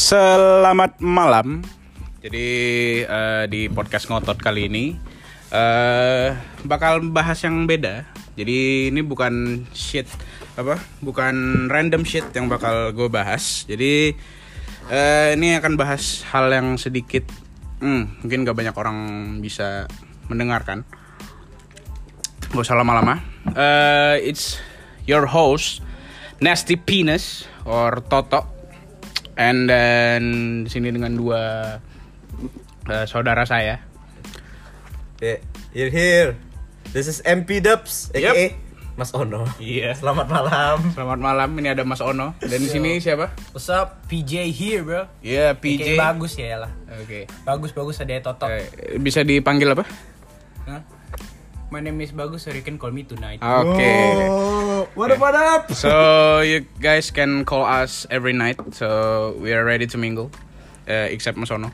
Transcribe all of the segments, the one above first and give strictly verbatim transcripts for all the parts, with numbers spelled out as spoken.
Selamat malam. Jadi uh, di podcast ngotot kali ini uh, bakal bahas yang beda. Jadi ini bukan shit apa, bukan random shit yang bakal gue bahas. Jadi uh, ini akan bahas hal yang sedikit, hmm, mungkin gak banyak orang bisa mendengarkan. Gak usah lama-lama. Uh, it's your host Nasty Penis or Toto. And then di sini dengan dua uh, saudara saya. Yeah, you're here. This is M P Dubs, aka yep. Mas Ono. Iya. Selamat malam. Selamat malam. Ini ada Mas Ono. Dan di sini siapa? What's up? P J here, bro. Iya, yeah, P J. Aka bagus ya lah. Oke. Okay. Bagus bagus ada Toto. Uh, bisa dipanggil apa? Hah? My name is Bagus, so you can call me tonight. Oke. Okay. Oh, what up, what up? So you guys can call us every night. So we are ready to mingle. Uh, except Mas Ono.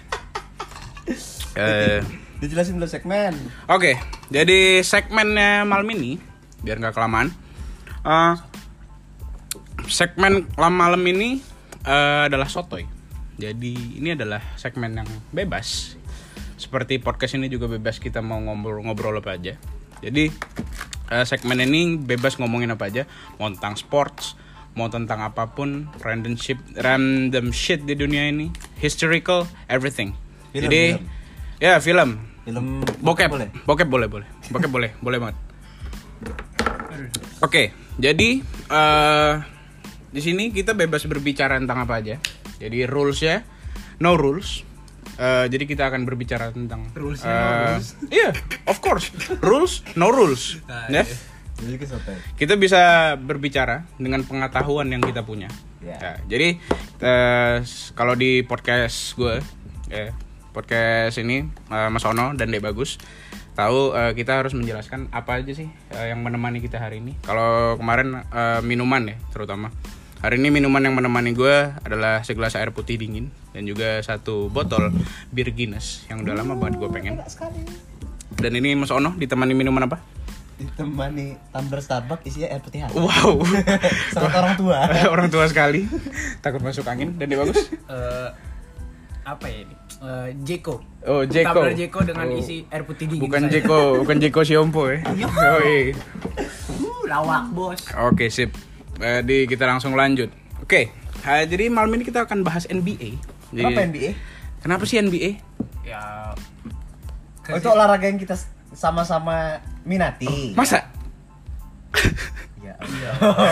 Uh, Dijelasin dulu segmen. Oke, okay, jadi segmennya malam ini biar nggak kelamaan. Uh, segmen malam ini uh, adalah sotoy. Jadi ini adalah segmen yang bebas. Seperti podcast ini juga bebas, kita mau ngobrol-ngobrol apa aja. Jadi uh, segmen ini bebas ngomongin apa aja, mau tentang sports, mau tentang apapun, random shit, random shit di dunia ini, historical, everything. Film, Jadi film. ya film, film bokep, boleh, bokep boleh, boleh, bokep boleh, boleh banget. Oke, okay, jadi uh, di sini kita bebas berbicara tentang apa aja. Jadi rulesnya, no rules. Uh, jadi kita akan berbicara tentang rules, uh, no rules. Iya, yeah, of course. Rules, no rules. Nah, ya. Yeah. Kita bisa berbicara dengan pengetahuan yang kita punya. Yeah. Ya, jadi uh, kalau di podcast gue, ya, podcast ini uh, Mas Ono dan Dek Bagus tahu uh, kita harus menjelaskan apa aja sih uh, yang menemani kita hari ini. Kalau kemarin uh, minuman ya, terutama. Hari ini minuman yang menemani gue adalah segelas air putih dingin dan juga satu botol bir Guinness yang udah lama banget gue pengen. Dan ini Mas Ono ditemani minuman apa? Ditemani tumbler Starbucks isinya air putih hangat. Wow. Sangat orang tua. Orang tua sekali. Takut masuk angin. Dan dia bagus? Uh, apa ya ini? Uh, Jeko. Oh, Jeko. Tumbler Jeko dengan oh. isi air putih dingin. Bukan Jeko, bukan Jeko Siompo ya. Oh, iya. Uh, lawak, Bos. Oke, sip. Jadi kita langsung lanjut. Oke, okay. uh, jadi malam ini kita akan bahas N B A. Jadi, kenapa N B A? Kenapa sih N B A? Ya, oh, itu olahraga yang kita sama-sama minati. Masa? Ya, iya.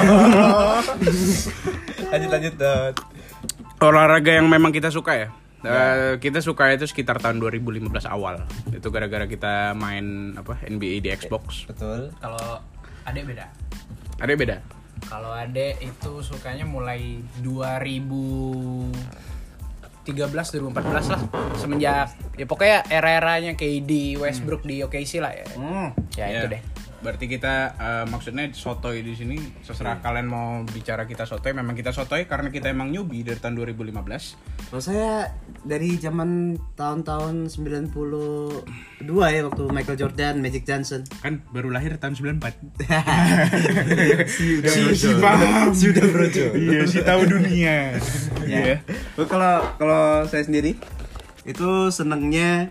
lanjut lanjut dot. Olahraga yang memang kita suka ya. Uh, kita suka itu sekitar tahun dua ribu lima belas awal. Itu gara-gara kita main apa N B A di Xbox. Betul. Kalau adek beda. Adek beda. Kalau adek itu sukanya mulai dua ribu tiga belas dua ribu empat belas lah, semenjak ya pokoknya era-eranya K D, Westbrook hmm. di O K C lah ya. Hmm. Ya yeah. Itu deh. Berarti kita uh, maksudnya sotoy di sini terserah hmm. kalian mau bicara kita sotoy, memang kita sotoy karena kita emang newbie dari tahun dua ribu lima belas. Kalau saya dari zaman tahun-tahun sembilan puluh dua ya, waktu Michael Jordan, Magic Johnson. Kan baru lahir tahun sembilan puluh empat. si udah si, brojo. Si paham. Si udah brojo. Iya, si tahu dunia. Ya. Kalau kalau saya sendiri itu senengnya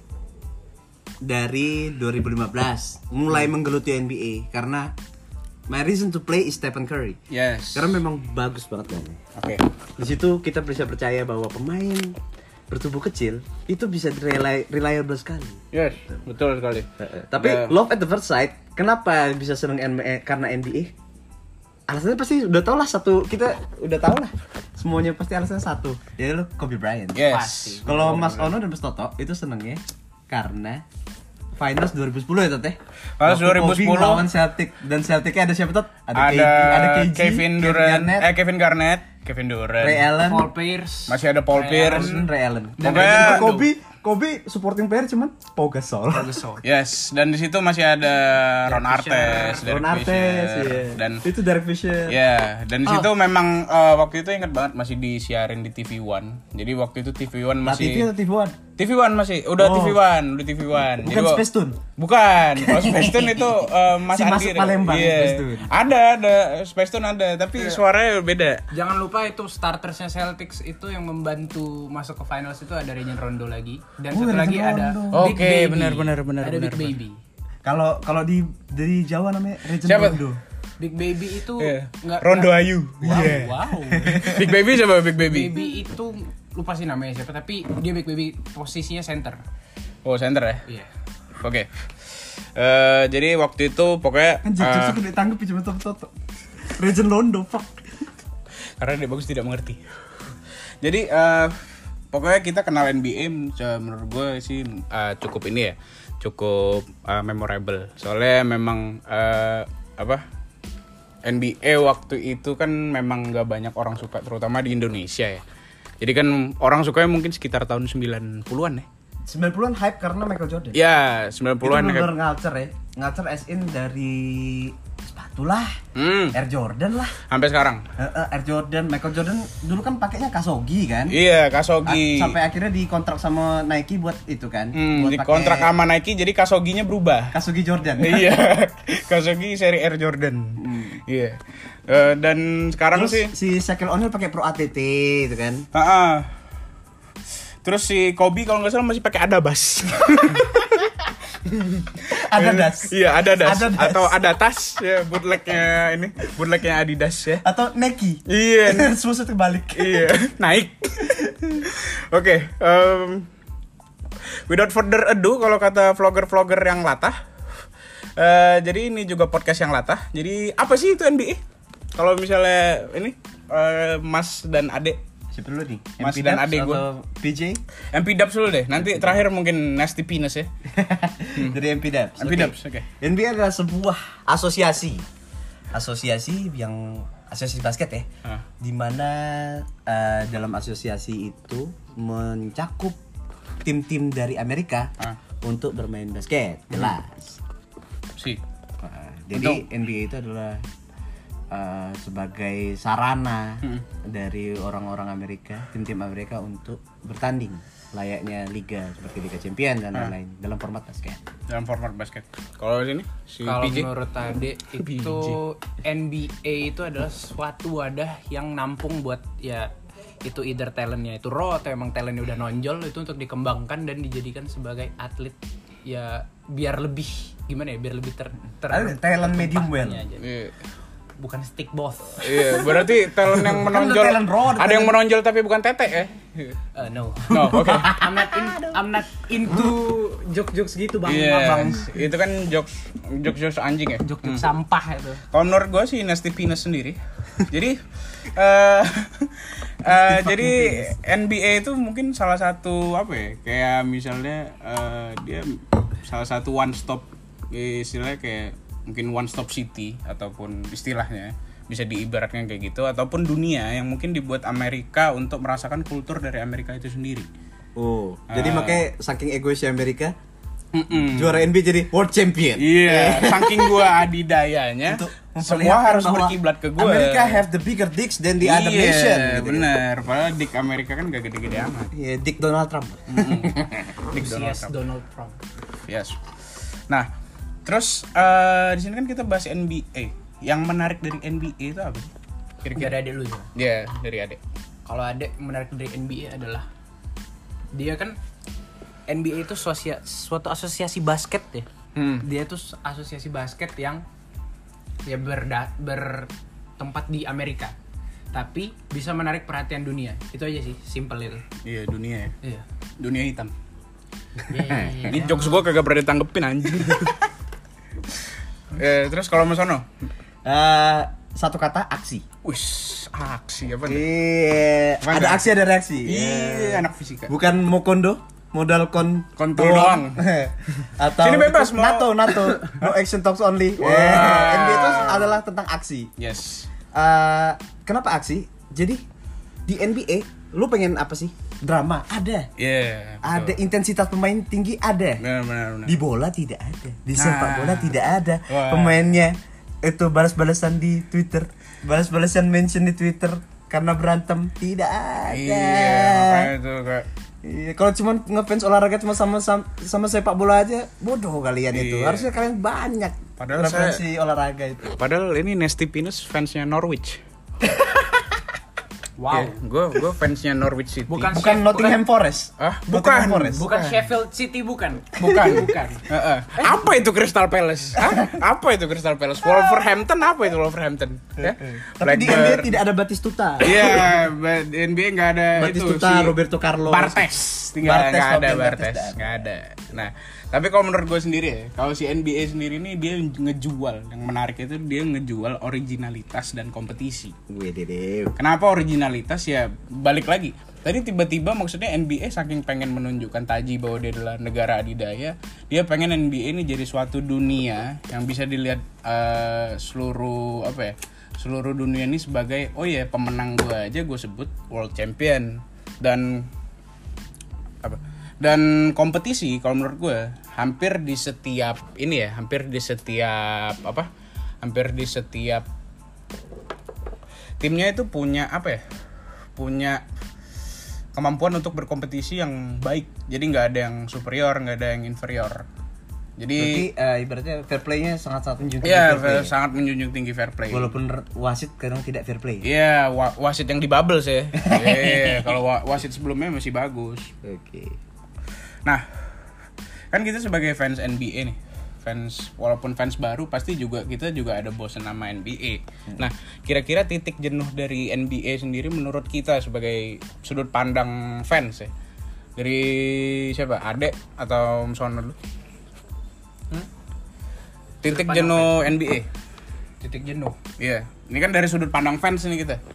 dari dua ribu lima belas mulai hmm. menggeluti N B A karena my reason to play is Stephen Curry. Yes. Karena memang bagus banget mainnya. Oke. Okay. Di situ kita bisa percaya bahwa pemain bertubuh kecil itu bisa rely, reliable sekali. Yes, betul sekali. Uh, tapi uh, love at the first sight, kenapa bisa seneng N B A? Karena N B A? Alasannya pasti udah tau lah, satu kita udah tau lah. Semuanya pasti alasannya satu. Jadi lo Kobe Bryant. Yes. Kalau Mas Ono dan Mas Toto itu senengnya karena Finals dua ribu sepuluh ya Tot ya? Finals dua ribu sepuluh lawan Celtic. Dan Celticnya ada siapa Tot? Ada, ada, ada K G, Kevin Durant, Kevin eh Kevin Garnett, Kevin Durant, Ray Allen, Paul Pierce, masih ada Paul Ray Pierce, Allen, Ray Allen. Dan Pokoknya, Kobe, Kobe supporting player cuman Pau Gasol. Pau Gasol. Yes, dan di situ masih ada Ron Artest, Ron Artest, iya. Dan itu Derek Fisher. Ya, yeah, dan di situ oh. memang uh, waktu itu ingat banget masih disiarin di T V One. Jadi waktu itu T V One masih T V atau T V One? T V One masih, udah Oh. T V One, udah T V One. Bukan gua- Space Tune? Bukan, kalau Space Tune itu uh, Mas Si Andi. masuk Palembang, Iya. Space Tune. Ada, ada Space Tune ada, tapi suaranya beda. Jangan lupa itu startersnya Celtics itu yang membantu masuk ke finals itu ada Rajon Rondo lagi dan Oh, satu Rajon lagi ada Rondo. Big Oke, Baby. benar, benar, benar, Ada benar, Big benar. Baby. Kalau kalau di dari Jawa namanya Rajon Siapa? Rondo. Big Baby itu Iya. nggak Rondo nggak- Ayu. Wow, Iya. wow. Big Baby coba Big Baby. Baby itu lupa sih namanya siapa tapi dia Big Baby posisinya center. Oh, center ya. Iya. Oke. Eh, jadi waktu itu pokoknya Kan eh, jokes itu ditangkep cuma toto. Rajon Rondo, fuck. karena dia bagus tidak mengerti. Jadi eh, pokoknya kita kenal N B A eh, menurut gue sih eh, cukup ini ya, cukup eh, memorable. Soalnya memang eh, apa N B A waktu itu kan memang gak banyak orang suka, terutama di Indonesia ya. Jadi kan orang sukanya mungkin sekitar tahun sembilan puluhan ya. sembilan puluhan hype karena Michael Jordan. Ya, sembilan puluhan Itu ya. bener ngalcer ya. Ngalcer as in dari sepatu lah, Hmm, Air Jordan lah. sampai sekarang. Eh, eh, Air Jordan, Michael Jordan dulu kan pakainya Kasogi kan. Iya, A- Kasogi. Sampai akhirnya dikontrak sama Nike buat itu kan. Hmm, buat di kontrak pakai sama Nike jadi Kasoginya berubah. Kasogi Jordan. Iya, Kasogi seri Air Jordan. Iya. Eh, dan sekarang Terus sih si Shaquille O'Neal pakai Pro A T T itu kan. ah, ah. Terus si Kobe kalau nggak salah masih pakai Adabas. Ada das. Iya, ada das. Ada das. Atau ada tas ya, bootlegnya ini, bootlegnya Adidas ya. Atau Nike. Iya. Semua terbalik. Iya, naik. Oke, em, without further ado kalau kata vlogger-vlogger yang latah. eh, jadi ini juga podcast yang latah. Jadi apa sih itu N B A? Kalau misalnya ini eh, Mas dan Ade, Siapa dulu nih? Mas M P dan Dubs adik gua. atau P J? M P Dubs dulu deh. Nanti terakhir mungkin Nasty Penis ya. Dari M P Dubs. M P Dubs, oke. N B A adalah sebuah asosiasi. Asosiasi yang asosiasi basket ya. Ah. Dimana eh, dalam asosiasi itu mencakup tim-tim dari Amerika Ah. untuk bermain basket. Jelas. Si. Nah, jadi N B A itu adalah uh, sebagai sarana Hmm. dari orang-orang Amerika, tim-tim Amerika untuk bertanding layaknya liga seperti Liga Champion dan lain-lain dalam format basket. Dalam format basket. Kalau sini si Kalau P J. menurut Ade itu N B A itu adalah suatu wadah yang nampung buat ya itu either talentnya itu raw atau emang talentnya udah nonjol itu untuk dikembangkan dan dijadikan sebagai atlet ya biar lebih gimana ya biar lebih ter, ter Ada talent medium well. tertempatnya aja. Iya. Bukan stick both. Iya, berarti talent yang menonjol. Kan talent raw, Ada yang menonjol tapi bukan tete ya. Uh, no. No, oke. I'm not in, I'm not into joke-jokes gitu bang. Iya, Bang. itu kan jokes jokes jokes anjing ya. Joke-joke sampah itu. Kalau menurut gue sih Nasty Penis sendiri. Jadi eh eh, jadi N B A itu mungkin salah satu apa ya? Kayak misalnya eh, dia salah satu one stop istilahnya kayak mungkin one stop city ataupun istilahnya bisa diibaratkan kayak gitu ataupun dunia yang mungkin dibuat Amerika untuk merasakan kultur dari Amerika itu sendiri. Oh, jadi Ah. makanya saking egoisnya Amerika Mm-mm. juara N B A jadi world champion. Iya, saking gua adidayanya Untuk semua memperlihatkan harus bahwa berkiblat ke gua. Amerika have the bigger dicks than the other Iya, nation. gitu kan. bener. Padahal dik Amerika kan gak gede-gede amat. Iya, Dick Donald Trump. Dik Donald Yes, Trump. Donald Trump. Yes. Nah, terus eh, di sini kan kita bahas N B A. Yang menarik dari N B A itu apa sih? Kira-kira? Dari adek lu ya. Ya, dari adek. Kalau adek menarik dari N B A adalah dia kan N B A itu sosia, suatu asosiasi basket ya. Hmm. Dia itu asosiasi basket yang ya berda, bertempat di Amerika. Tapi bisa menarik perhatian dunia. Itu aja sih, simple itu. Iya, dunia ya. Iya. Dunia hitam. Yeah. Ini jokes gua kagak pernah ditanggepin anjing. Eh, terus kalau Mas Ono? Eh, satu kata aksi. Wis, aksi apa nih? Iya, Mana? ada aksi ada reaksi. Iya, anak fisika. Bukan mau kondo, modal kon Kontol doang. Atau Sini bebas, mau- NATO, NATO, no action talks only. Wah. Eh, N B A itu adalah tentang aksi. Yes. Eh, kenapa aksi? Jadi di N B A lu pengen apa sih? Drama ada. Iya. Yeah, Ada intensitas pemain tinggi ada. Benar, benar, benar. Di bola tidak ada. Di sepak Nah. bola tidak ada. Wah. Pemainnya itu balas-balasan di Twitter, balas-balasan mention di Twitter karena berantem tidak ada. Iya, makanya itu kayak Iya, kalau cuma ngefans olahraga cuma sama sama, sama sepak bola aja, bodoh kalian itu. Iya. Harusnya kalian banyak Padahal referensi olahraga itu. Padahal ini Nasty Penis fansnya Norwich. Wow. Gue gue fansnya Norwich City. Bukan Bukan Chef- Nottingham Forest. Ah, Nottingham bukan. Forest. Bukan Sheffield City bukan. Bukan, bukan. Heeh. Apa itu Crystal Palace? Hah? Apa itu Crystal Palace? Wolverhampton apa itu Wolverhampton? Ya? Tapi di N B A tidak ada Batistuta. Iya, ba- di N B A nggak ada Batistuta, itu si Roberto Carlos. Bartes, tinggal Bartes, nggak ada Robin Bartes, Bartes, nggak ada. Nah, tapi kalau menurut gue sendiri ya, kalau si N B A sendiri ini dia ngejual, yang menarik itu dia ngejual originalitas dan kompetisi. Wih, dede. Kenapa originalitas ya? Balik lagi. Tadi tiba-tiba maksudnya N B A saking pengen menunjukkan taji bahwa dia adalah negara adidaya, dia pengen N B A ini jadi suatu dunia yang bisa dilihat uh, seluruh apa ya? Seluruh dunia ini sebagai oh ya pemenang gue aja gue sebut world champion dan apa? Dan kompetisi kalau menurut gue hampir di setiap ini ya, hampir di setiap apa? Hampir di setiap timnya itu punya apa ya? Punya kemampuan untuk berkompetisi yang baik. Jadi nggak ada yang superior, nggak ada yang inferior. Jadi Berarti uh, ibaratnya fair play-nya sangat-sangat menjunjung ya tinggi fair play. sangat menjunjung tinggi fair play. Walaupun r- wasit kadang tidak fair play. Iya, wa- wasit yang di bubble sih. Iya, kalau wa- wasit sebelumnya masih bagus. Oke. Nah, kan kita sebagai fans N B A nih, fans walaupun fans baru pasti juga kita juga ada bosen sama N B A. Nah, kira-kira titik jenuh dari N B A sendiri menurut kita sebagai sudut pandang fans ya. Dari siapa? Ade atau Msono dulu? Hmm? Titik jenuh N B A. Titik jenuh. Iya, ini kan dari sudut pandang fans nih kita.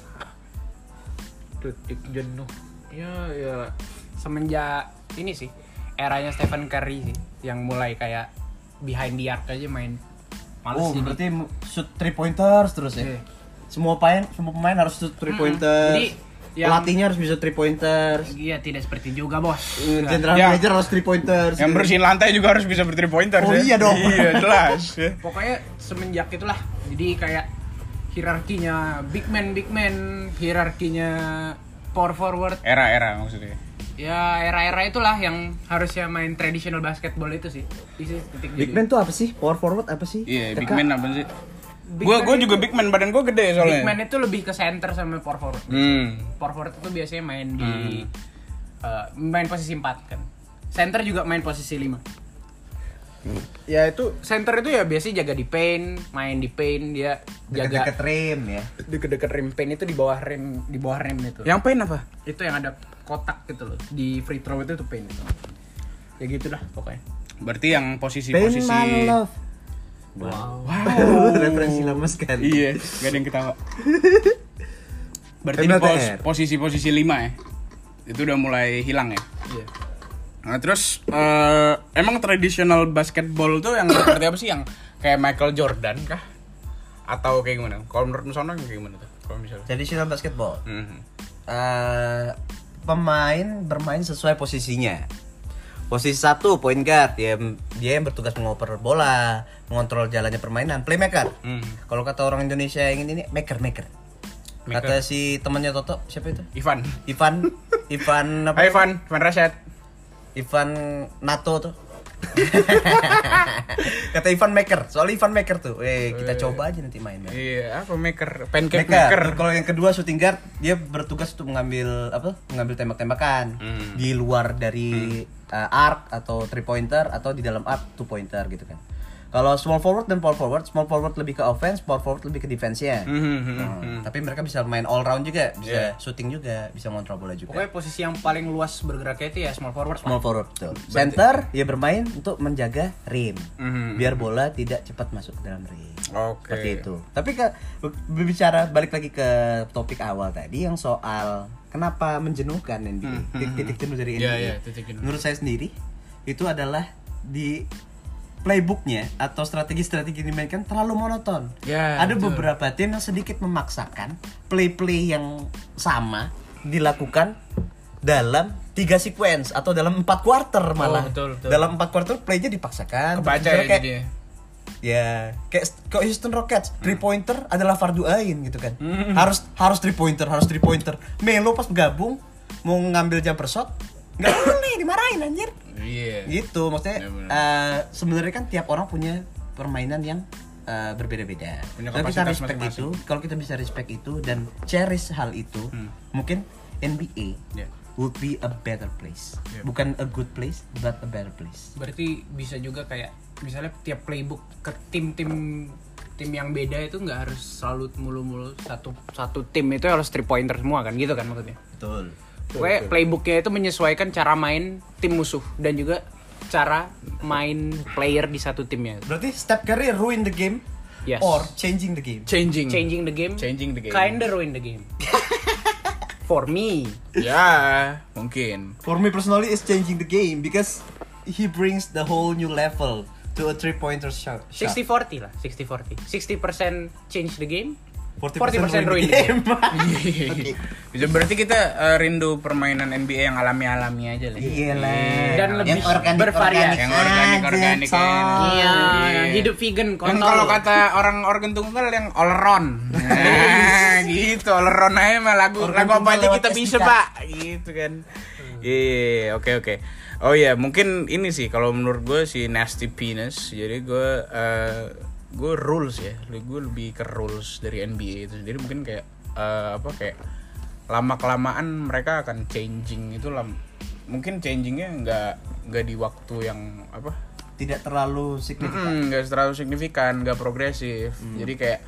Titik jenuh. Ya ya semenjak ini sih eranya Stephen Curry sih yang mulai kayak behind the arc aja main. Males Oh, jadi. berarti shoot three pointers terus ya. Iya. Semua pemain semua pemain harus shoot three pointers. Jadi, yang- pelatihnya harus bisa three pointers. Iya, tidak seperti juga, Bos. General Ya. manager harus three pointers. Yang bersihin lantai juga harus bisa ber-three pointer. Oh, ya? iya dong. Iya, jelas. ya. Pokoknya semenjak itulah. Jadi kayak hierarkinya big man big man, hierarkinya power forward. Era-era maksudnya. Ya era-era itulah yang harusnya main traditional basketball itu sih. Itu titik Big jenuh. man tuh apa sih? Power forward apa sih? Iya, big Teka. man apa sih? Big Gua man gua itu- juga big man, badan gua gede soalnya. Big man itu lebih ke center sama power forward. Hmm. Power forward itu biasanya main di eh, main posisi empat kan. Center juga main posisi lima. Ya itu center itu ya biasanya jaga di paint, main di paint, dia jaga Deket-deket rim ya. deket-deket rim paint itu di bawah rim di bawah rim itu. Yang pain apa? Itu yang ada kotak gitu loh. Di free throw itu tuh paint itu. Ya gitulah pokoknya. Berarti yang Pain posisi-posisi my love. Wow. Wow, referensi lama sekali. Iya, gak ada yang ketawa. Berarti M di L T R. pos, posisi-posisi lima ya. Itu udah mulai hilang ya. Iya. Nah, terus eh, emang tradisional basketball tuh yang seperti apa sih, yang kayak Michael Jordan kah? Atau kayak gimana? Kalau menurut Musono kayak gimana tuh? Kalau misalnya. Traditional basketball. Mhm. Eh, pemain bermain sesuai posisinya. Posisi satu point guard, dia dia yang bertugas mengoper bola, mengontrol jalannya permainan, playmaker. Hmm. Kalau kata orang Indonesia yang ini maker maker. Maker. Kata si temannya Toto, siapa itu? Ivan. Ivan, Ivan apa? Hai Ivan, Ivan Rashad. Ivan Nato tuh. Kata Ivan Maker, soal Ivan Maker tuh. Eh, kita coba aja nanti main. Iya, apa maker? Pancake Maker. maker. Kalau yang kedua shooting guard, dia bertugas untuk mengambil apa? Mengambil tembak-tembakan Hmm. di luar dari uh, arc atau three pointer atau di dalam arc two pointer gitu kan. Kalau small forward dan power forward, small forward lebih ke offense, power forward lebih ke defense-nya. Mhm, mhm, Hmm, mhm. Tapi mereka bisa main all round juga, bisa Yeah. shooting juga, bisa ngontrol bola juga. Pokoknya posisi yang paling luas bergeraknya itu ya small forward. Small forward betul. Center dia bermain untuk menjaga rim. Mhm. Biar bola tidak cepat masuk ke dalam rim. Oke. Seperti itu. Tapi ke berbicara balik lagi ke topik awal tadi yang soal kenapa menjenuhkan N B A. Hmm, Titik, titik jenuh dari N B A. Iya, iya, titik jenuh. Menurut saya sendiri itu adalah di playbooknya atau strategi-strategi yang dimainkan terlalu monoton. Ya, Ada betul. beberapa tim yang sedikit memaksakan play-play yang sama dilakukan dalam tiga sequence atau dalam empat quarter malah. betul, betul. Dalam empat quarter playnya dipaksakan. Kebaca Terus ya kayak, jadi. ya kayak kayak Houston Rockets, three pointer adalah fardu ain gitu kan. Harus harus three pointer, harus three pointer. Melo pas gabung mau ngambil jumper shot Nggak boleh dimarahin anjir. Iya. Gitu maksudnya. Ya, benar. eh, sebenarnya kan tiap orang punya permainan yang eh, berbeda-beda. Punya Kalau kita kapasitas respect masing-masing. itu, kalau kita bisa respect itu dan cherish hal itu, Hmm. mungkin N B A Ya. would be a better place. Yeah. Bukan a good place, but a better place. Berarti bisa juga kayak misalnya tiap playbook ke tim-tim tim yang beda itu nggak harus selalu mulu-mulu satu satu tim itu harus three pointer semua kan gitu kan maksudnya. Betul. Pokoknya playbooknya itu menyesuaikan cara main tim musuh dan juga cara main player di satu timnya. Berarti Steph Curry ruin the game Yes. or changing the game. Changing. Changing the game. Changing the game. Kinda ruin the game. For me. Ya, mungkin. For me personally, it's changing the game because he brings the whole new level to a three-pointer shot. sixty forty lah, sixty forty. sixty percent change the game, forty forty percent ruin the game. Oke. Bisa berarti kita eh, rindu permainan N B A yang alami-alami aja lah. Iyalah. Dan lebih yang organik, bervariasi. organik Yang organik-organik aja, kan. coy. Iya, Iya. hidup vegan Kan kontol. kalau kata orang organ tunggal yang all around. Nah, gitu all around aja mah lagu Organ lagu apa tunggal aja lewat kita S D K. bisa, Pak. Gitu kan. Iya, oke oke. Oh iya, mungkin ini sih kalau menurut gue si Nasty Penis. Jadi gue eh, gue rules ya. Gue lebih ke rules dari N B A itu. Jadi mungkin kayak eh, apa kayak lama kelamaan mereka akan changing itu lam mungkin changingnya nggak nggak di waktu yang apa Tidak terlalu signifikan. Mm-mm, nggak terlalu signifikan, nggak progresif. Jadi kayak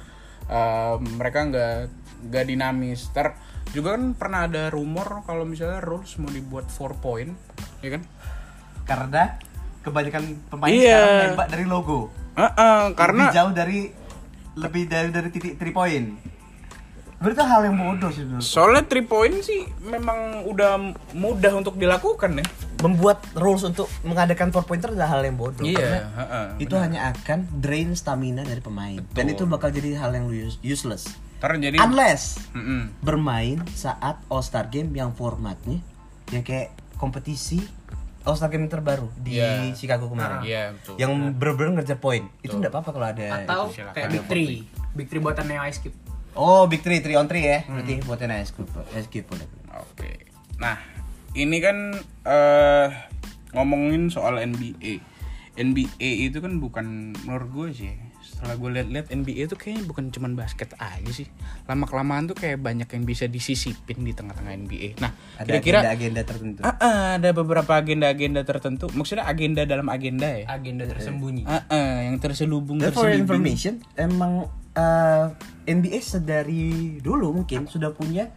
uh, mereka nggak nggak dinamis. Ter juga kan pernah ada rumor kalau misalnya rules mau dibuat four point, ya kan? Karena kebanyakan pemain Iya. sekarang nembak dari logo. Uh-uh, karena lebih jauh dari lebih dari dari titik three point. Berarti itu hal yang bodoh sih menurut. soalnya three point sih memang udah mudah untuk dilakukan ya. Membuat rules untuk mengadakan four pointer adalah hal yang bodoh. Iya, Karena heeh, itu hanya akan drain stamina dari pemain. Dan itu bakal jadi hal yang use- useless. Ntar jadi Unless Mm-mm. bermain saat All Star Game yang formatnya yang kayak kompetisi All Star Game terbaru di Iya. Chicago kemarin. Iya, betul. Yang bener-bener ngejar poin. Itu enggak apa-apa kalau ada Atau itu. silakan. kayak Big Three, Big Three buatan Neo Ice Cube. Oh, Big Three, three on three ya. Berarti buatnya Ice Cube. Ice Cube boleh. Oke. Nah, ini kan eh ngomongin soal N B A. N B A itu kan bukan menurut gue sih. Setelah gue lihat-lihat N B A itu kayaknya bukan cuman basket aja sih. Lama-kelamaan tuh kayak banyak yang bisa disisipin di tengah-tengah N B A. Nah, Ada kira-kira agenda-agenda tertentu. Ah, ah, ada beberapa agenda-agenda tertentu. Maksudnya agenda dalam agenda ya. Agenda tersembunyi. Ah, ah, yang terselubung Dan for terselubung. information, emang uh, N B A sedari dulu mungkin sudah punya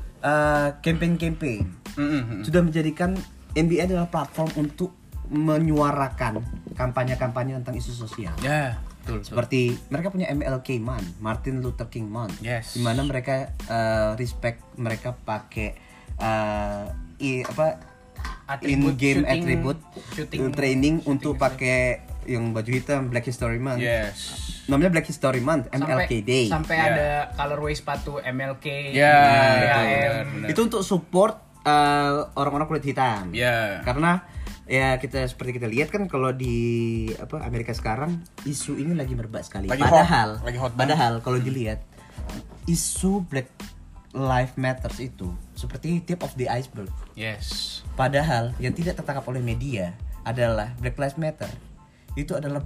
uh, campaign-campaign. Mm-mm. Sudah menjadikan N B A adalah platform untuk menyuarakan kampanye-kampanye tentang isu sosial. Ya, betul. betul. Seperti mereka punya M L K Month, Martin Luther King Month, Yes. di mana mereka uh, respect mereka pakai uh, i, apa Atribut in-game shooting- attribute shooting- training shooting untuk gitu. pakai yang baju hitam Black History Month. Yes. Namanya Black History Month, M L K Day. Sampai Ya. ada colorway sepatu M L K, Ya, B betul, H M. benar, benar. Itu untuk support uh, orang-orang kulit hitam. Ya. Karena ya kita seperti kita lihat kan kalau di apa Amerika sekarang isu ini lagi merebak sekali. Lagi padahal hot, lagi hot banget. padahal kalau dilihat isu Black Lives Matters itu seperti tip of the iceberg. Yes. Padahal yang tidak tertangkap oleh media adalah Black Lives Matter. Itu adalah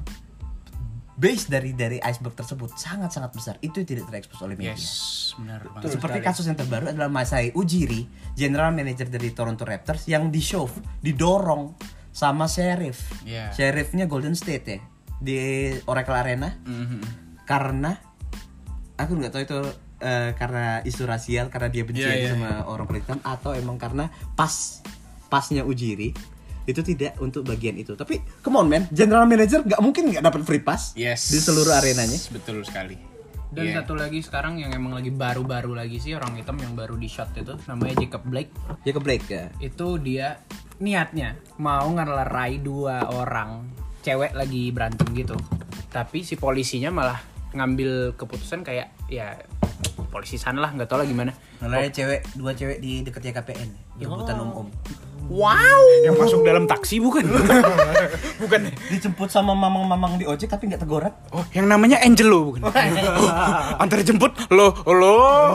base dari dari iceberg tersebut sangat-sangat besar. Itu tidak terekspos oleh media. Yes, benar banget. Seperti kasus yang terbaru adalah Masai Ujiri, general manager dari Toronto Raptors yang di shove, didorong sama sheriff. Yeah. Sheriffnya Golden State ya di Oracle Arena Mhm. karena aku nggak tahu itu eh, karena isu rasial karena dia benci Yeah, aja yeah, sama orang kulit hitam atau emang karena pas pasnya Ujiri itu tidak untuk bagian itu. Tapi come on man, general manager nggak mungkin nggak dapat free pass Yes. di seluruh arenanya. Betul sekali. Dan Iya. satu lagi sekarang yang emang lagi baru-baru lagi sih orang hitam yang baru di shot itu namanya Jacob Blake. Ya ke Blake ya. Itu dia niatnya mau ngelerai dua orang cewek lagi berantem gitu. Tapi si polisinya malah ngambil keputusan kayak ya polisi sana lah nggak tahu lah gimana. Ngelari cewek, dua cewek di dekatnya K P N, Ya. jemputan om-om. Wow. Yang masuk dalam taksi bukan? Bukan. Dijemput sama mamang-mamang di ojek tapi nggak tegorak. Oh, yang namanya Angelo bukan? Antar jemput lo, lo,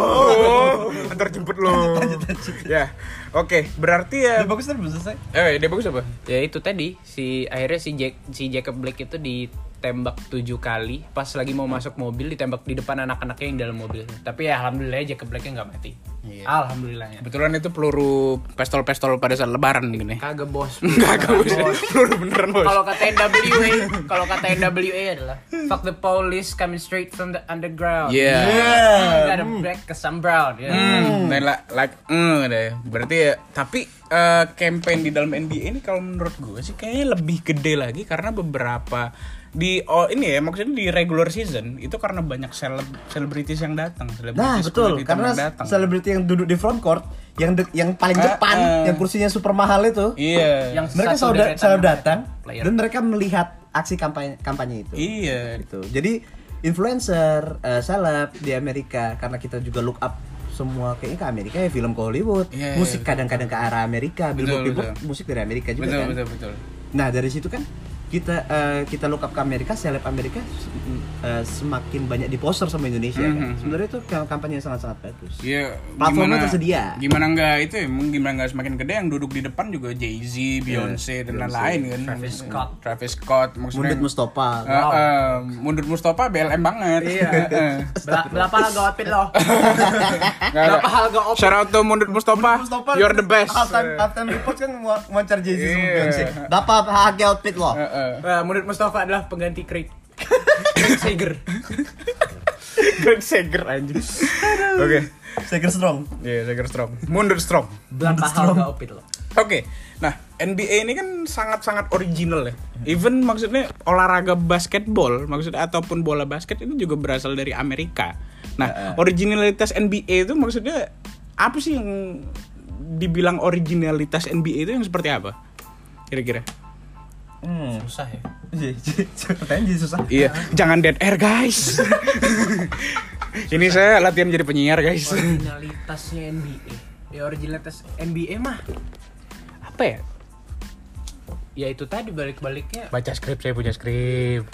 antar jemput lo. Ya, oke, berarti ya. Dia bagus tadi belum selesai. Eh, dia bagus apa? Ya itu tadi si akhirnya si Jack, si Jacob Blake itu ditembak tujuh kali pas lagi mau masuk mobil, ditembak di depan anak-anaknya yang dalam mobil. Tapi ya alhamdulillah Jacob Blake-nya nggak mati. Iya. Alhamdulillahnya. Kebetulan itu peluru pistol-pistol pada saat lebaran gini. Kagak bos. Kagak bos. Peluru beneran bos. Kalau kata N W A, kalau kata N W A adalah fuck the police coming straight from the underground. Yeah. You gotta break ke some brown. Ya. Hmm, dan la- like, mm, deh. Berarti ya, tapi eh, campaign di dalam N B A ini kalau menurut gue sih kayaknya lebih gede lagi karena beberapa di oh ini ya maksudnya di regular season itu karena banyak seleb selebritis yang datang. Nah betul, karena selebriti yang duduk di front court, yang de- yang paling Uh, depan, uh. yang kursinya super mahal itu, Iya. Yang mereka satu selalu, da- deretan selalu yang datang player. dan mereka melihat aksi kampanye kampanye itu. Iya. Gitu. Jadi influencer, uh, seleb di Amerika karena kita juga look up semua kayaknya ke Amerika ya, film ke Hollywood, Iya, musik iya, kadang-kadang ke arah Amerika, billboard Betul, billboard betul. musik dari Amerika juga Betul, kan. betul, betul. Nah dari situ kan kita uh, kita look up ke Amerika, seleb Amerika uh, semakin banyak di poster sama Indonesia kan. Mhm. Sebenarnya itu kampanye yang sangat-sangat bagus. Iya, Platformnya gimana- tersedia. Gimana enggak itu ya, emang gimana enggak semakin gede yang duduk di depan juga Jay-Z, Beyonce dan Beyonce, lain-lain kan. Travis Scott. Travis Scott maksudnya. Mundut Mustafa. Eh, eh, Mundut Mustafa B L M banget. Iya. Heeh. Bela- Berapa harga outfit lo? Nggak ada. Berapa harga outfit? Shout out to Mundut Mustafa. You're the best. Halftime, halftime report kan wawancara Jay-Z sama Iya. Beyonce. Berapa harga outfit lo? Heeh. Nah, menurut Mustafa adalah pengganti Craig. Craig Sager. Greg Sager anjing. Oke. Sager strong. Iya, Sager strong. Mundur strong. Berapa harga outfit lo? Oke, nah N B A ini kan sangat-sangat original ya. Even maksudnya olahraga basketball, maksudnya ataupun bola basket itu juga berasal dari Amerika. Nah, originalitas N B A itu maksudnya apa sih yang dibilang originalitas N B A itu yang seperti apa? Kira-kira? Hmm. Susah ya. Pertanyaan jadi susah. Iya, jangan dead air guys. Ini saya latihan jadi penyiar guys. Originalitasnya N B A. Ya originalitas N B A mah apa ya? Ya itu tadi balik-baliknya. Baca skrip, saya punya skrip.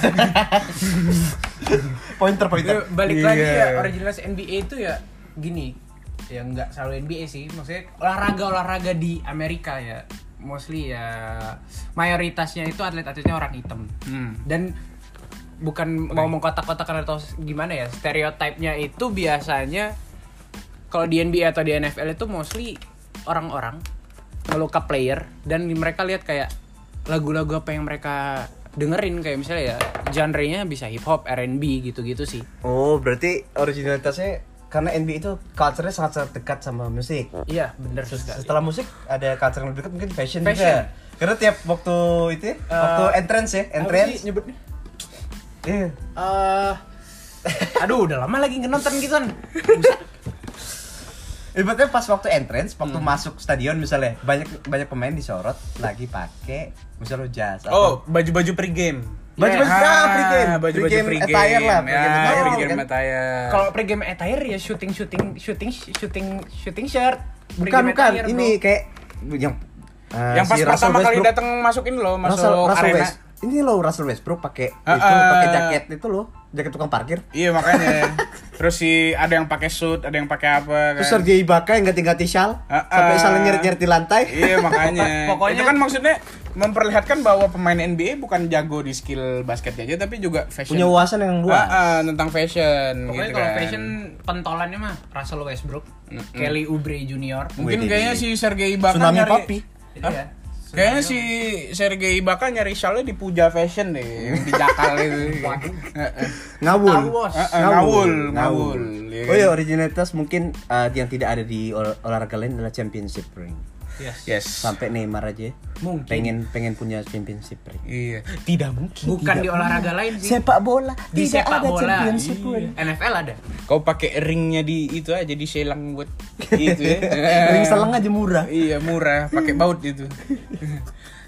Pointer Ya, pointer. balik Iya. lagi ya originalitas N B A itu ya gini. Ya nggak selalu N B A sih, maksudnya olahraga-olahraga di Amerika ya. Mostly ya mayoritasnya itu atlet-atletnya orang hitam. Hmm. Dan bukan mau mengkotak-kotakan atau gimana ya, stereotipnya itu biasanya kalau di N B A atau di N F L itu mostly orang-orang nge-look up player dan mereka lihat kayak lagu-lagu apa yang mereka dengerin, kayak misalnya ya genre-nya bisa hip hop, R and B gitu-gitu sih. Oh, berarti originalitasnya karena N B A itu culture-nya sangat-sangat dekat sama musik. Iya, benar sekali. Setelah musik ada culture yang lebih dekat mungkin fashion, Fashion. juga. Karena tiap waktu itu ya, Uh, waktu entrance ya, Apa sih entrance. nyebutnya? Iya. Eh, aduh, udah lama lagi nggak nonton gitu kan. Ibaratnya pas waktu entrance, waktu masuk stadion misalnya, banyak banyak pemain disorot lagi pakai misalnya jas Oh, baju-baju pre-game. baju-baju Ah, ah, pre-game, baju-baju pre-game pre-game. attire lah, pre-game Ya, attire, pre-game kan? attire. Kalau pre-game attire ya shooting shooting shooting shooting shooting shirt. Bukan Pre-game bukan, attire, ini bro. kayak yang uh, yang pas si Russell pertama kali Westbrook- datang masuk ini loh, masuk Russell, Russell arena. West. Ini loh Russell Westbrook pakai Ah, itu, ah. pakai jaket itu loh, jaket tukang parkir. Iya makanya. Terus si ada yang pakai suit, ada yang pakai apa kan. Terus Sergei Ibaka yang ganti-ganti shawl Ah, sampai ah. shawl nyeret-nyeret di lantai. Iya makanya. Pokoknya- itu kan maksudnya memperlihatkan bahwa pemain N B A bukan jago di skill basket aja tapi juga fashion. Punya wawasan yang luas. Ah, ah, tentang fashion Pokoknya gitu kalau kan. fashion pentolannya mah Russell Westbrook, Kelly Oubre Junior. Mungkin Wih, kayaknya si Sergei Ibaka Tsunami nyari Papi. Iya. Kayaknya si Sergei Ibaka nyari shawlnya di Puja Fashion deh, di Jakal itu. Heeh. Ngawul. Ngawul. Heeh, ngawul, ngawul. Iya Oh kan? ya, originalitas mungkin uh, yang tidak ada di ol- olahraga lain adalah championship ring. Yes. Yes. Sampai Neymar aja Mungkin. pengen pengen punya championship ring. Iya. Tidak mungkin. Bukan di olahraga lain sih. Sepak bola Di tidak sepak ada bola. championship Iya. ring. N F L ada. Kau pakai ringnya di itu aja di selang buat itu ya. Ring selang aja murah. Iya murah, pakai baut itu.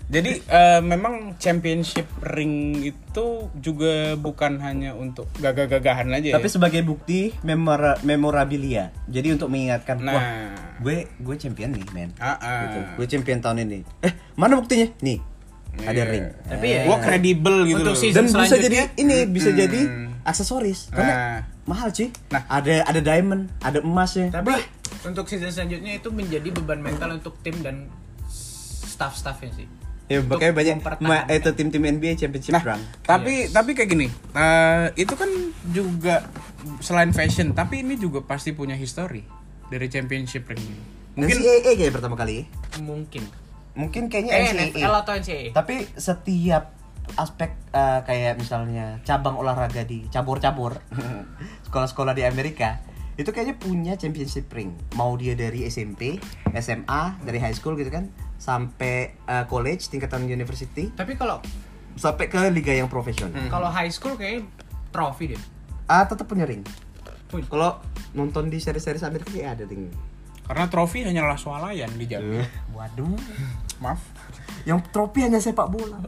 Jadi uh, memang championship ring itu juga bukan hanya untuk gagah-gagahan aja. Tapi ya? sebagai bukti memora- memorabilia. Jadi untuk mengingatkan, Nah. wah, gue gue champion nih, men. Ah, ah. Gitu. Gue champion tahun ini. Eh, mana buktinya? Nih. Ada Iya. ring. Tapi Eh. ya, Gua kredibel gitu Untuk loh. season Dan bisa selanjutnya- jadi ini bisa Hmm. jadi aksesoris. Karena Nah. mahal cuy. Nah. ada ada diamond, ada emasnya. Tapi untuk season selanjutnya itu menjadi beban mental untuk tim dan staff-staffnya sih. Ya Untuk makanya banyak mempertahankan. ma- itu tim-tim N B A championship Nah, run. tapi tapi kayak gini, uh, itu kan juga selain fashion, tapi ini juga pasti punya history dari championship ring ini. Mungkin Mungkin N C A A kayak pertama kali. Mungkin. Mungkin kayaknya Eh, N C A N F L A. atau N C A A? Tapi setiap aspek uh, kayak misalnya cabang olahraga di cabur-cabur sekolah-sekolah di Amerika itu kayaknya punya championship ring. Mau dia dari S M P, S M A, dari high school gitu kan, sampai uh, college tingkatan university, Tapi kalau sampai ke liga yang profesional. kalau high school kayak trofi deh. Ah, tetap punya ring. Punya. Kalau nonton di seri-seri Amerika kayak ada ring. karena trofi hanyalah swalayan di jalan. Waduh. Maaf. Yang trofi hanya sepak bola.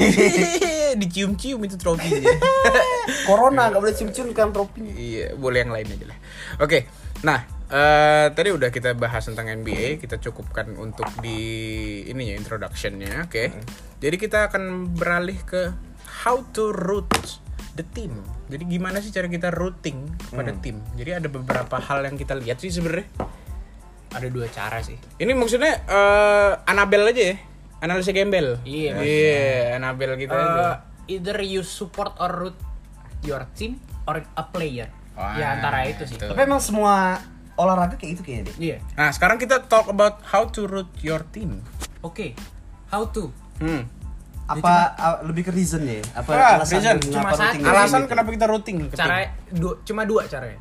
Dicium-cium itu trofinya. Corona nggak boleh cium-cium kan trofinya. Iya, boleh yang lain aja lah. Oke, nah eh, tadi udah kita bahas tentang N B A, kita cukupkan untuk di ini ya introduction-nya, oke. Jadi kita akan beralih ke how to root the team. Jadi gimana sih cara kita rooting kepada tim? Jadi ada beberapa hal yang kita lihat sih sebenarnya. Ada dua cara sih. Ini maksudnya eh, Anabel aja ya, analisa gembel. Iya, Iya, Anabel kita aja. Uh, either you support or root your team or a player. Wah, ya antara itu sih. itu. Tapi emang semua olahraga kayak itu kayaknya deh. Iya. Nah, sekarang kita talk about how to root your team. Oke. How to? Hmm. Apa a- lebih ke reason ya? Apa Ah, alasan reason. kenapa Cuma routing satu. ke tim Alasan itu? kenapa kita routing ke tim? Cara dua, cuma dua caranya.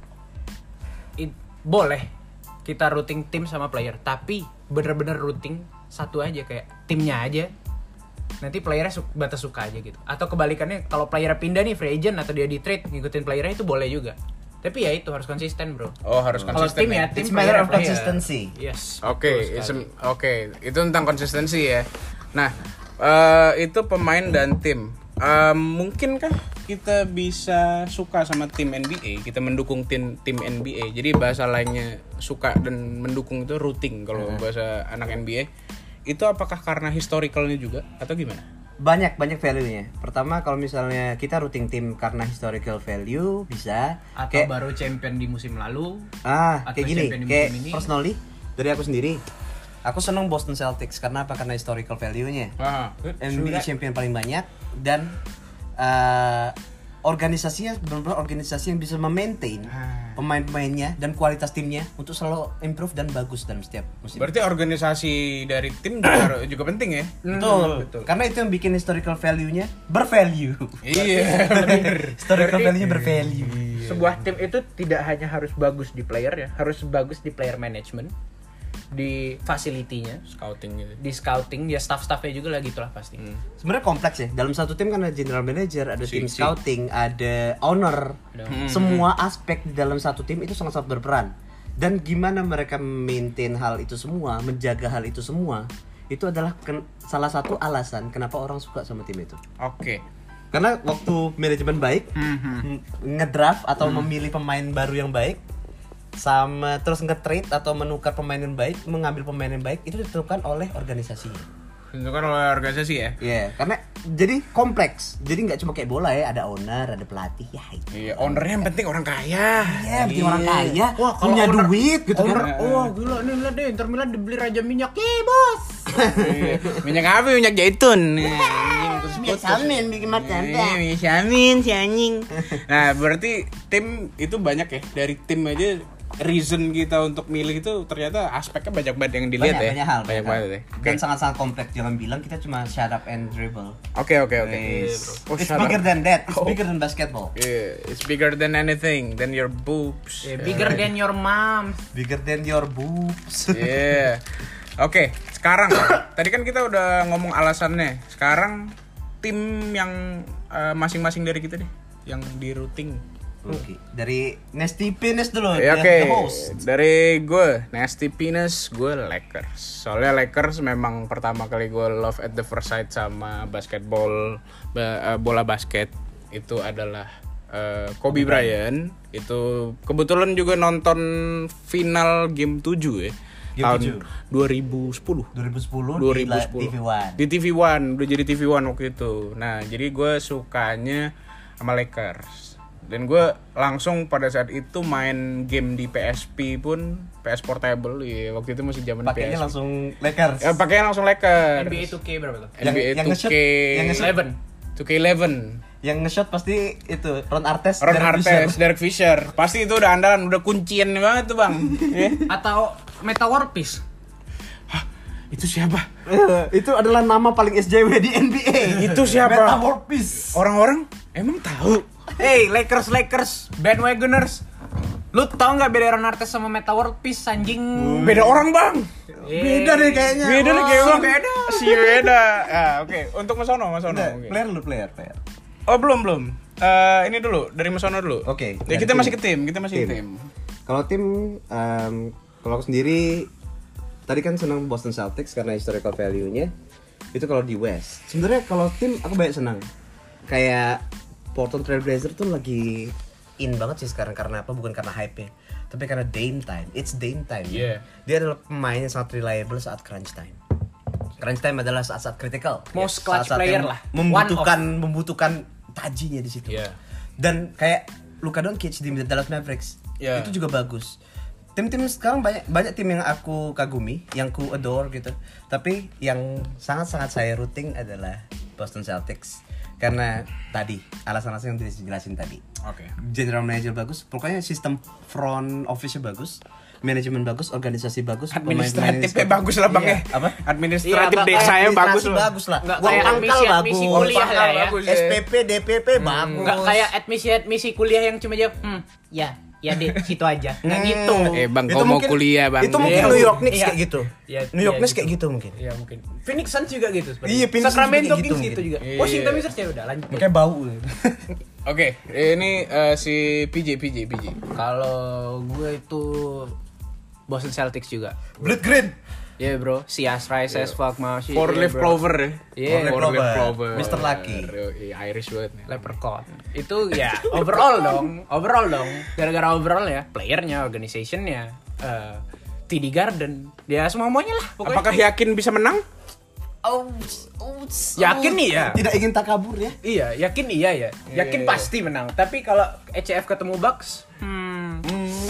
It, boleh kita routing tim sama player, tapi bener-bener routing satu aja kayak timnya aja. Nanti playernya su- batas suka aja gitu. Atau kebalikannya kalau player pindah nih free agent atau dia di trade ngikutin playernya itu boleh juga. Tapi ya itu harus konsisten, bro. Oh, harus Kalau konsisten. tim ya, ya? tim It's matter player, of player. consistency. Yes. Oke, betul it's sekali. a- oke, itu tentang konsistensi ya. Nah, eh, itu pemain dan tim. Eh, mungkinkah kita bisa suka sama tim N B A, kita mendukung tim tim N B A. Jadi bahasa lainnya suka dan mendukung itu rooting kalau bahasa anak N B A. Itu apakah karena historicalnya juga atau gimana? Banyak banyak value-nya. Pertama kalau misalnya kita routing tim karena historical value bisa Atau kayak baru champion di musim lalu. ah atau kayak gini, champion di kayak musim ini. personally dari aku sendiri. Aku seneng Boston Celtics karena apa? Karena historical value-nya. Wah, N B A champion paling banyak dan uh, organisasinya benar-benar organisasi yang bisa memaintain Ah. pemain-pemainnya dan kualitas timnya untuk selalu improve dan bagus dalam setiap musim. berarti organisasi dari tim juga, juga penting ya? betul. betul. Karena itu yang bikin historical value-nya bervalue. Iya, bener. Historical Berarti- value-nya bervalue. Sebuah tim itu tidak hanya harus bagus di player ya, harus bagus di player management, di facility-nya, Scouting gitu. di scouting, ya staff-staffnya juga lah gitulah pasti. Sebenarnya kompleks ya. Dalam satu tim kan ada general manager, ada Si- tim si. scouting, ada owner. Ada- Semua aspek di dalam satu tim itu sangat-sangat berperan. Dan gimana mereka maintain hal itu semua, menjaga hal itu semua, itu adalah ken- salah satu alasan kenapa orang suka sama tim itu. Oke. Karena waktu manajemen baik, Mhm. ngedraft atau memilih pemain baru yang baik, sama terus nge-trade atau menukar pemain yang baik, mengambil pemain yang baik, itu ditentukan oleh organisasinya. Itu kan oleh organisasi ya. Iya, karena jadi kompleks. Jadi nggak cuma kayak bola ya, ada owner, ada pelatih, ya itu. Iya, ownernya yang penting orang kaya. Iya, penting orang kaya, Wah, kalau punya owner- duit gitu Owner, kan. wah gila nih lihat deh Inter Milan dibeli Raja Minyak. Ye, bos. Iya. Minyak apa? Minyak zaitun. Samin bikin macan. Iya, minyak samin si anjing. Nah, berarti tim itu banyak ya. Dari tim aja reason kita untuk milih itu ternyata aspeknya banyak banget yang dilihat Banyak, ya. banyak hal, Banyak banget ya. Oke. Dan sangat-sangat kompleks. Jangan bilang kita cuma shut up and dribble. Oke, oke, oke. It's, Oh, it's shut bigger up. than that. It's Oh. bigger than basketball. Yeah, it's bigger than anything, than your boobs. Yeah, bigger than your mom. Bigger than your boobs. Iya. Oke, sekarang tadi kan kita udah ngomong alasannya. Sekarang tim yang eh, masing-masing dari kita deh yang di routing Oke. Dari Nasty Penis dulu. Ya, the- oke. the host. Dari gue, Nasty Penis, gue Lakers. Soalnya Lakers memang pertama kali gue love at the first sight sama basketball, ba- uh, bola basket itu adalah uh, Kobe Bryant. Itu kebetulan juga nonton final game tujuh ya. Game tahun tujuh. dua ribu sepuluh. dua ribu sepuluh dua di ribu la- sepuluh T V One. Di T V One, udah jadi T V One waktu itu. Nah, jadi gue sukanya sama Lakers. Dan gue langsung pada saat itu main game di P S P pun, P S Portable, ya waktu itu masih zaman P S P. Pakainya langsung Lakers. Ya, pakainya langsung Lakers. N B A two K berapa tuh? N B A Yang- yang two K nge-shoot- yang nge-shoot eleven. two K eleven. Yang nge-shot pasti itu Ron Artest. Ron Derek Artest, Fisher. Derek Fisher. Pasti itu udah andalan, udah kuncian banget tuh, Bang. Ya. Atau Meta World Peace. Itu siapa? Itu adalah nama paling S J W di N B A. Itu siapa? Meta World Peace. Orang-orang emang tahu. Hey, Lakers Lakers bandwagoners. Lu tau nggak beda Ron Artest sama Meta World Peace anjing? Beda orang, Bang. Beda deh kayaknya. Beda nih kayak si Bang. beda. Si beda. Ah, oke. Untuk Mas Ono, Mas Ono. Udah, Oke. player lu player, player. Oh, belum, belum. Eh, ini dulu dari Mas Ono dulu. Oke, Ya, dari kita tim. masih ke tim, kita masih ke tim. Kalau tim, em, kalau aku sendiri tadi kan senang Boston Celtics karena historical value-nya. Itu kalau di West. Sebenarnya kalau tim aku banyak senang. Kayak Portland Trail Blazers tuh lagi in banget sih sekarang karena apa? Bukan karena hype-nya, tapi karena Dame time. It's Dame time. Yeah. Dia adalah pemain yang sangat reliable saat crunch time. Crunch time adalah saat-saat critical. Most clutch Saat-saat player yang lah. Membutuhkan membutuhkan tajinya di situ. Yeah. Dan kayak Luka Doncic di Dallas Mavericks Yeah. itu juga bagus. Tim-tim sekarang banyak banyak tim yang aku kagumi, yang ku adore gitu. Tapi yang sangat-sangat saya rooting adalah Boston Celtics karena tadi alasan-alasan yang dijelasin tadi. Oke. General manager bagus, pokoknya sistem front office-nya bagus, manajemen bagus, organisasi bagus, Administratifnya pemain-pemain- bagus lah, Bang, Iya, ya. apa? Administratif Iya, desa yang Administrasi bagus lah. bagus lah. Nggak Uang kayak pangkal admisi- admisi bagus. kuliah lah ya. Bagus ya. S P P, D P P bagus. Nggak kayak admisi-admisi kuliah yang cuma jawab, hmm, ya, ya deh, situ aja. Nggak Hmm. gitu. Eh, Bang, Itu kau mau mungkin- kuliah, Bang. Itu mungkin Iya. New York Knicks Iya. kayak gitu. Iya, New York iya, Knicks gitu. kayak gitu mungkin. Iya mungkin. Phoenix Suns juga gitu sebenarnya. Iya, Phoenix Suns Sacramento juga Kings gitu gitu mungkin. juga. Iya. Washington Wizards ya udah lanjut. Makanya bau. Oke, ini eh, si P J P J P J. Kalau gue itu Boston Celtics juga. Blood green. Ya yeah, bro, si as rice as fuck mau sih. Four leaf clover ya. Iya, Four leaf clover. clover. Mister Lucky. Iya, Irish banget nih. Leprechaun. Itu ya overall dong, overall dong. Gara-gara overall ya, playernya, organizationnya, eh T D Garden, dia semuanya lah. Pokoknya. Apakah yakin bisa menang? Oh, oh, Yakin nih ya? Tidak ingin takabur ya. Iya, yakin iya ya. Iya, Yakin iya. pasti menang. Tapi kalau E C F ketemu Bucks, hmm,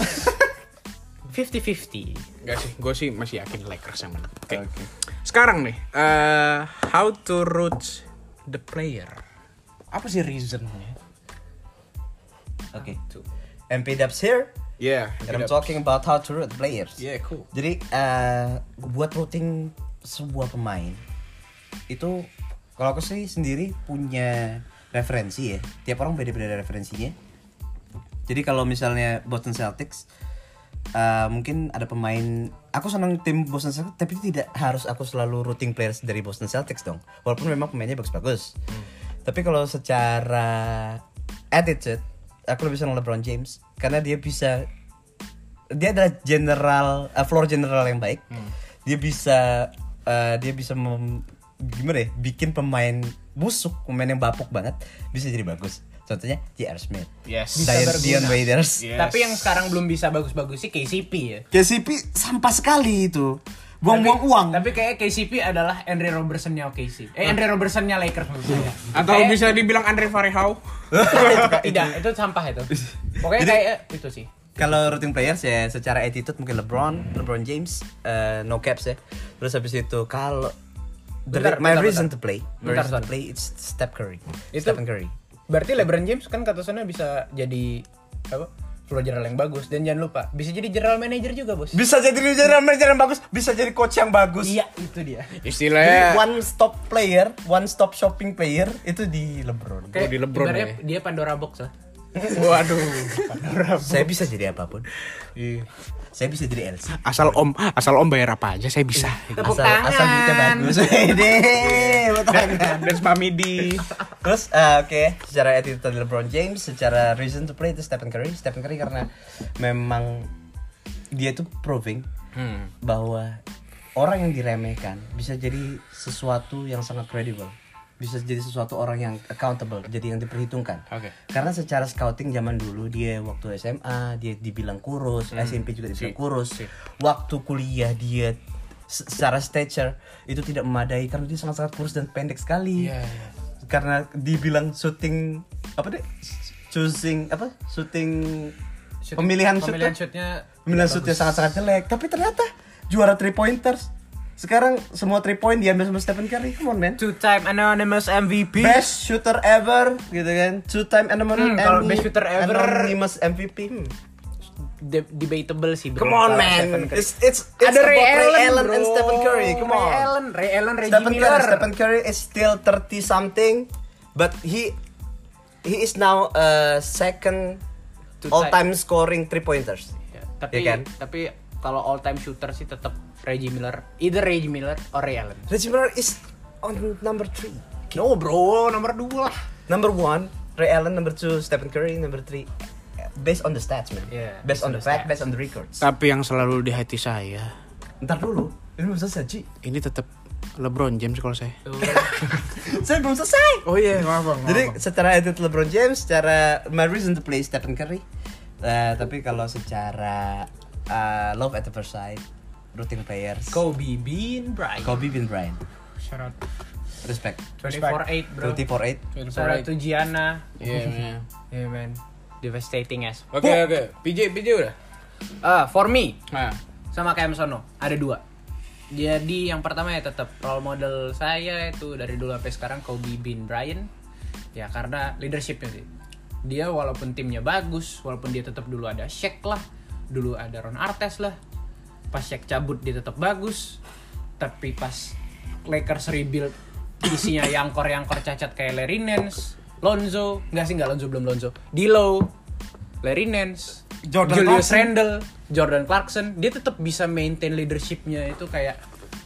fifty fifty. Enggak sih, gue sih masih yakin Lakers yang menang. Oke. Oke. Sekarang nih, eh, how to root the player? Apa sih reasonnya? Oke. M P Dubs here. Yeah, And I'm talking about how to root players. Yeah, cool. Jadi eh, buat routing sebuah pemain itu kalau aku sih sendiri punya referensi ya. Tiap orang beda-beda referensinya. Jadi kalau misalnya Boston Celtics eh, mungkin ada pemain, aku senang tim Boston Celtics tapi tidak harus aku selalu routing players dari Boston Celtics dong. Walaupun memang pemainnya bagus-bagus. Tapi kalau secara attitude aku lebih senang LeBron James karena dia bisa, dia adalah general uh, floor general yang baik. Dia bisa uh, dia bisa mem, gimana ya, bikin pemain busuk, pemain yang bapuk banget bisa jadi bagus. Contohnya J R Smith, Yes. Bisa Dion, berguna. Dion Waiters. Yes. Tapi yang sekarang belum bisa bagus-bagus sih K C P ya. K C P sampah sekali itu, buang-buang uang. Tapi kayak K C P adalah Andre Robertson-nya O K C. Eh Andre Robertson-nya Lakers maksud saya. Atau Kayak- bisa dibilang Andre Farihau? tidak, itu sampah itu. Pokoknya Jadi- kayak itu sih. Kalau routing players ya secara attitude mungkin LeBron, LeBron James, uh, no caps ya. Terus habis itu kalau the Bentar, my bentar, reason bentar. to play, my Bentar, reason to bentar. play it's Steph Curry. Itu- Stephen Curry. Berarti LeBron James kan kata sana bisa jadi apa? Floor general yang bagus, dan jangan lupa bisa jadi general manager juga, Bos. Bisa jadi general manager yang bagus, bisa jadi coach yang bagus. Iya, itu dia. Jadi Istilahnya one stop player, one stop shopping player itu di LeBron. Kayak di LeBron ibaratnya ya. dia Pandora box lah. Waduh, panorama. Saya bisa jadi apapun. Iya. Saya bisa jadi L C. Asal om, asal om bayar apa aja saya bisa. Tepuk asal, tangan. asal duitnya bagus. Ide, tepuk tangan. Dan Spamidi. Terus uh, oke, okay. Secara attitude LeBron James, secara reason to play itu Stephen Curry. Stephen Curry karena memang dia tuh proving Hmm. bahwa orang yang diremehkan bisa jadi sesuatu yang sangat credible. Bisa jadi sesuatu orang yang accountable, jadi yang diperhitungkan. Oke. Karena secara scouting zaman dulu dia waktu S M A dia dibilang kurus, S M P juga dibilang Si. kurus. Si. Waktu kuliah dia se- secara stature itu tidak memadai karena dia sangat-sangat kurus dan pendek sekali. Iya, iya. Karena dibilang shooting apa deh? Choosing apa? Shooting, Shooting- pemilihan pemilihan shootnya shootnya pemilihan shootnya sangat-sangat jelek. Tapi ternyata juara three pointers. Sekarang semua three point diambil sama Stephen Curry. Come on man. two time anonymous M V P. Best shooter ever gitu kan. Two time anonymous Hmm, kalau best shooter ever- anonymous M V P. Hmm. De- debatable sih bro. Come on kalau man. Stephen Curry. It's it's it's Ada Ray about Allen, Ray Allen bro. and Stephen Curry. Come Ray on. Allen, Ray Allen, Reggie Stephen Miller. Curry, Stephen Curry is still thirty something, but he he is now uh, second To all time scoring three pointers. Ya, tapi Ya kan? tapi kalau all time shooter sih tetap Reggie Miller, either Reggie Miller or Ray Allen. Reggie Miller is on number three. No bro, nomor dua lah. Number one, Ray Allen. Number two, Stephen Curry. Number three, based on the stats man. Yeah, based on the fact, based on the records. Tapi yang selalu di hati saya, Ntar dulu, ini belum selesai Ci. ini tetap LeBron James kalau saya. Saya belum selesai. Oh iya, maaf bang. Jadi secara attitude LeBron James, secara my reason to play Stephen Curry. Uh, tapi kalau secara uh, love at the first sight, routine players, Kobe Bean Bryant. Kobe Bean Bryant, Shout out. respect. twenty-four eight bro. twenty-four eight. Shout out to Gianna. Iya, iya. Yeah man. Devastating as. Oke, oke. P J, P J udah. Ah, for me Nah, sama kayak Sono, ada dua. Jadi yang pertama ya tetap role model saya itu dari dulu sampai sekarang Kobe Bean Bryant. Ya karena leadershipnya sih. Dia walaupun timnya bagus, walaupun dia tetap dulu ada Shaq lah, dulu ada Ron Artest lah. Pas Shaq cabut dia tetap bagus. Tapi pas Lakers rebuild isinya yangkor-yangkor cacat kayak Larry Nance, Lonzo, enggak sih enggak Lonzo belum Lonzo. D'Lo, Larry Nance, Jordan Julius Clarkson. Randle, Jordan Clarkson, dia tetap bisa maintain leadershipnya itu kayak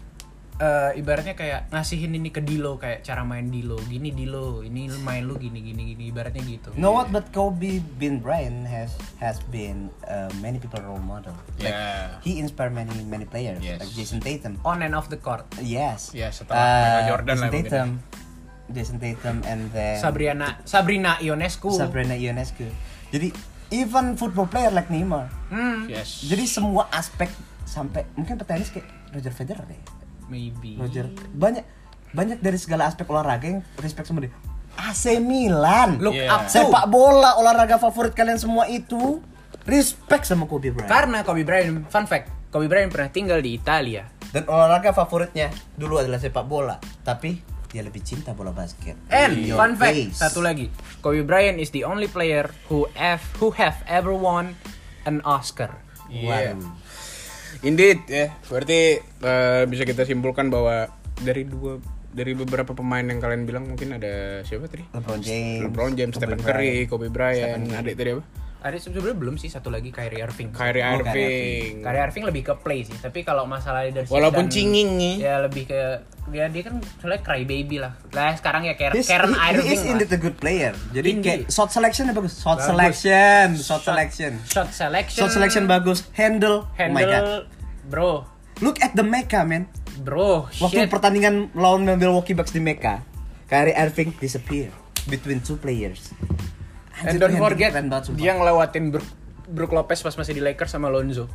eh, ibaratnya kayak ngasihin ini ke D'Lo kayak cara main D'Lo, gini D'Lo, ini main lu gini gini gini ibaratnya gitu. You know what? But Kobe Bean Bryant has has been uh, many people role model. Like Yeah. he inspired many many players, Yes. like Jason Tatum. On and off the court. Yes. Ya, setelah Michael Jordan Jason lah mungkin. Tatum, Jason Tatum, and then Sabrina Sabrina Ionescu. Sabrina Ionescu. Jadi even football player like Neymar. Hmm, Yes. Jadi semua aspek sampai mungkin petenis kayak Roger Federer deh. maybe. Roger banyak banyak dari segala aspek olahraga yang respect sama dia. A C Milan. Look Yeah. up to. Sepak bola olahraga favorit kalian semua itu respect sama Kobe Bryant. Karena Kobe Bryant, fun fact, Kobe Bryant pernah tinggal di Italia. Dan olahraga favoritnya dulu adalah sepak bola, tapi dia lebih cinta bola basket. And In your fun fact, face. satu lagi, Kobe Bryant is the only player who have who have ever won an Oscar. Iya. Waduh. Indeed ya. Berarti eh, bisa kita simpulkan bahwa dari dua dari beberapa pemain yang kalian bilang mungkin ada siapa tadi? LeBron James, LeBron James, Kobe Stephen Bryant. Curry, Kobe Bryant, adik tadi apa? Ada sebenarnya belum sih satu lagi Kyrie Irving. Kyrie Oh, Kyrie Irving. Kyrie Irving lebih ke play sih, tapi kalau masalah leadership Walaupun dan- cinging nih. ya lebih ke dia dia kan soalnya cry baby lah. Lah sekarang ya Karen, He's- Karen he, he Irving is lah. indeed a good player. Jadi Indeed. kayak shot selection bagus. Shot Bagus. selection, shot Shot- selection. Shot selection. Shot selection bagus. Handle. Oh my god. Handle, bro, Look at the Mecca, man. bro, Waktu shit. pertandingan lawan Milwaukee Bucks di Mecca, Kyrie Irving disappear between two players. And Anjir, don't tuh forget keren banget, sumpah. dia ngelewatin Brook, Brook Lopez pas masih di Lakers sama Lonzo.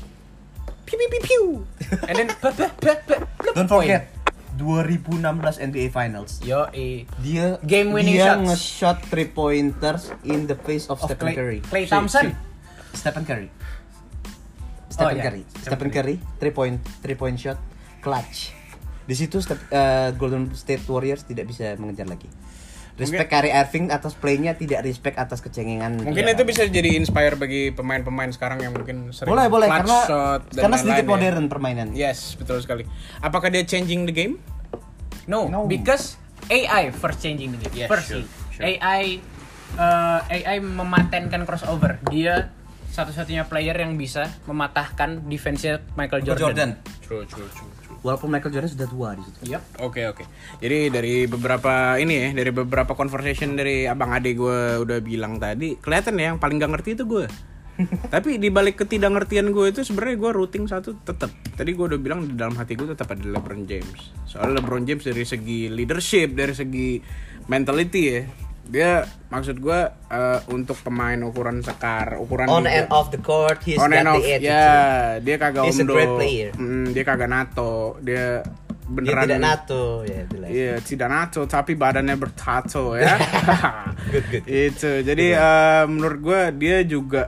Piu piu piu piu. And then pa, pa, pa, pa, pa, Don't point. forget dua ribu enam belas N B A Finals. Yo, eh. Dia Game winning dia shots. nge-shot three pointers in the face of, Of Stephen Klay- Curry. Klay Shit, Thompson. shit. Stephen Curry. Stephen iya. Curry. Stephen Stephen Curry, three point three point shot clutch. Di situ Step- uh, Golden State Warriors tidak bisa mengejar lagi. Respect Kyrie Irving atas playnya, tidak respect atas kecengengan. Mungkin dia. itu bisa jadi inspire bagi pemain-pemain sekarang yang mungkin sering boleh boleh clutch karena shot dan karena sedikit lain-lain ya. modern permainan. Yes, betul sekali. Apakah dia changing the game? No, No. because A I first changing the game. Yes, first sure, sih. sure. A I uh, A I mematenkan crossover. Dia satu-satunya player yang bisa mematahkan defense-nya Michael Jordan. Jordan. True, true, true, true. Walaupun Michael Jordan sudah tua di situ. Yep. Oke oke. Jadi dari beberapa ini ya, dari beberapa conversation dari abang ade gue udah bilang tadi, kelihatan ya yang paling gak ngerti itu gue. Tapi di balik ketidagngertian gue itu sebenarnya gue routing satu tetap. Tadi gue udah bilang di dalam hati gue tetap ada LeBron James. Soalnya LeBron James dari segi leadership, dari segi mentality ya, dia maksud gue uh, untuk pemain ukuran sekar, ukuran On juga. and off the court, he's On and got off, the attitude. ya dia kagak He's a omdo, great player. Hmm, dia kagak nato, dia Dia beneran tidak nato ya itulah. Iya, tidak nato tapi badannya bertato ya. Good, good. Itu. Jadi uh, menurut gue dia juga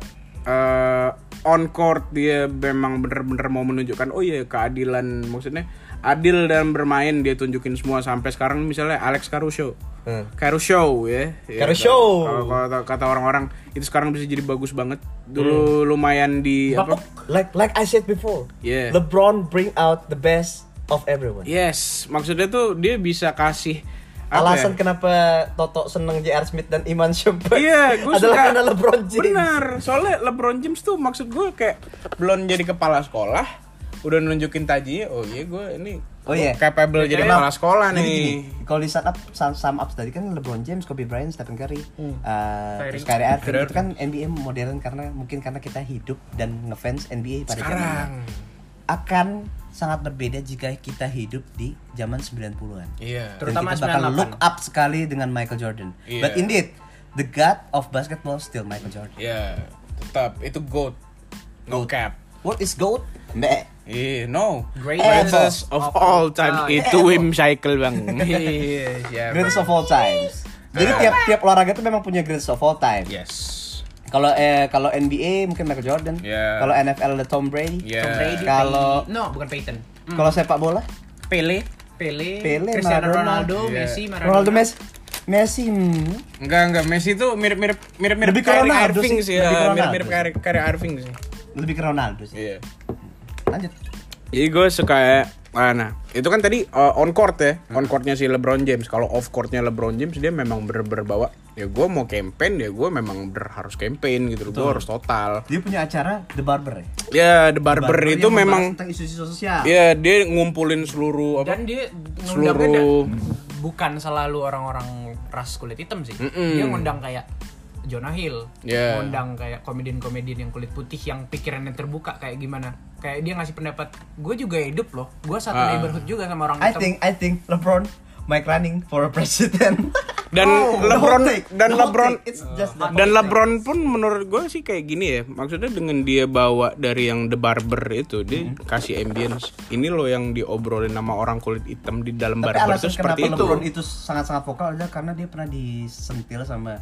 uh, on court dia memang bener-bener mau menunjukkan oh iya keadilan, maksudnya adil dalam bermain, dia tunjukin semua sampai sekarang misalnya Alex Caruso. Hmm. Caruso ya. Ya, Caruso. Kalau kata, kata orang-orang itu sekarang bisa jadi bagus banget. Dulu Hmm. lumayan di apa? Like like I said before, Yeah. LeBron bring out the best of everyone. Yes, maksudnya tuh dia bisa kasih apa Alasan ya? kenapa Toto seneng J R Smith dan Iman Shumpert Iya, gue adalah suka karena LeBron James. Benar, soalnya LeBron James tuh maksud gue kayak belum jadi kepala sekolah, udah nunjukin tajinya, oh iya gue ini Oh iya. capable jadi Memang- kepala sekolah Jadi nih. gini, kalau di sum up, sum, sum up tadi kan LeBron James, Kobe Bryant, Stephen Curry, uh, Kyrie. terus Kyrie Irving Kyrie itu kan N B A modern karena mungkin karena kita hidup dan ngefans N B A pada Sekarang zamannya. Akan sangat berbeda jika kita hidup di zaman sembilan puluhan. iya. Dan Terutama kita bakal sembilan puluh delapan. look up sekali dengan Michael Jordan. Iya. But indeed, the god of basketball still Michael Jordan. Iya, tetap itu GOAT. No Goat. cap. What is GOAT? Meh. Iya, no. Greatest Greatest of all time Oh, iya. itu Wim Cycle bang. Iya, siap. Greatest of all times. Jadi tiap tiap olahraga itu memang punya greatest of all time. Yes. Kalau eh kalau N B A mungkin Michael Jordan. Yeah. Kalau N F L ada Tom Brady. Yeah. Tom Brady, Kalau- Pey- no bukan Peyton. Hmm. Kalau sepak bola, Pele. Pele, Pele, Cristiano Maradona. Ronaldo, Iya. Messi, Maradona. Ronaldo Messi, Messi. hmm. Enggak enggak, Messi tuh mirip-mirip mirip-mirip Lebih ke Kyrie Ronaldo Irving sih, sih, lebih ke ya. Ronaldo Mirip-mirip sih. Kyrie Kyrie Irving sih. Lebih ke Ronaldo sih. Iya. Lanjut. Jadi gue suka ah, nah itu kan tadi uh, on court ya, on courtnya si LeBron James. Kalau off courtnya LeBron James dia memang bener-bener bawa. Ya gue mau campaign ya gue memang bener harus campaign gitu, gue harus total. Dia punya acara The Barber ya. Ya The Barber, The itu yang membahas memang, tentang isu-isu sosial. ya dia ngumpulin seluruh apa? Dan dia Seluruh- ngundangnya da- bukan selalu orang-orang ras kulit hitam sih. Mm-mm. Dia ngundang kayak Jonah Hill, Yeah. ngundang kayak komedian-komedian yang kulit putih yang pikirannya terbuka kayak gimana. Kayak dia ngasih pendapat, gue juga hidup loh, gue satu Ah. neighborhood juga sama orang I hitam. think I think LeBron Mike running for a president. Dan Oh, the LeBron whole take, dan the whole LeBron take, it's just the dan whole LeBron pun menurut gue sih kayak gini ya. Maksudnya dengan dia bawa dari yang The Barber itu dia Mm-hmm. kasih ambience. Ini loh yang diobrolin sama orang kulit hitam di dalam Tapi barber alasan itu seperti kenapa itu. LeBron itu sangat-sangat vokal adalah karena dia pernah disentil sama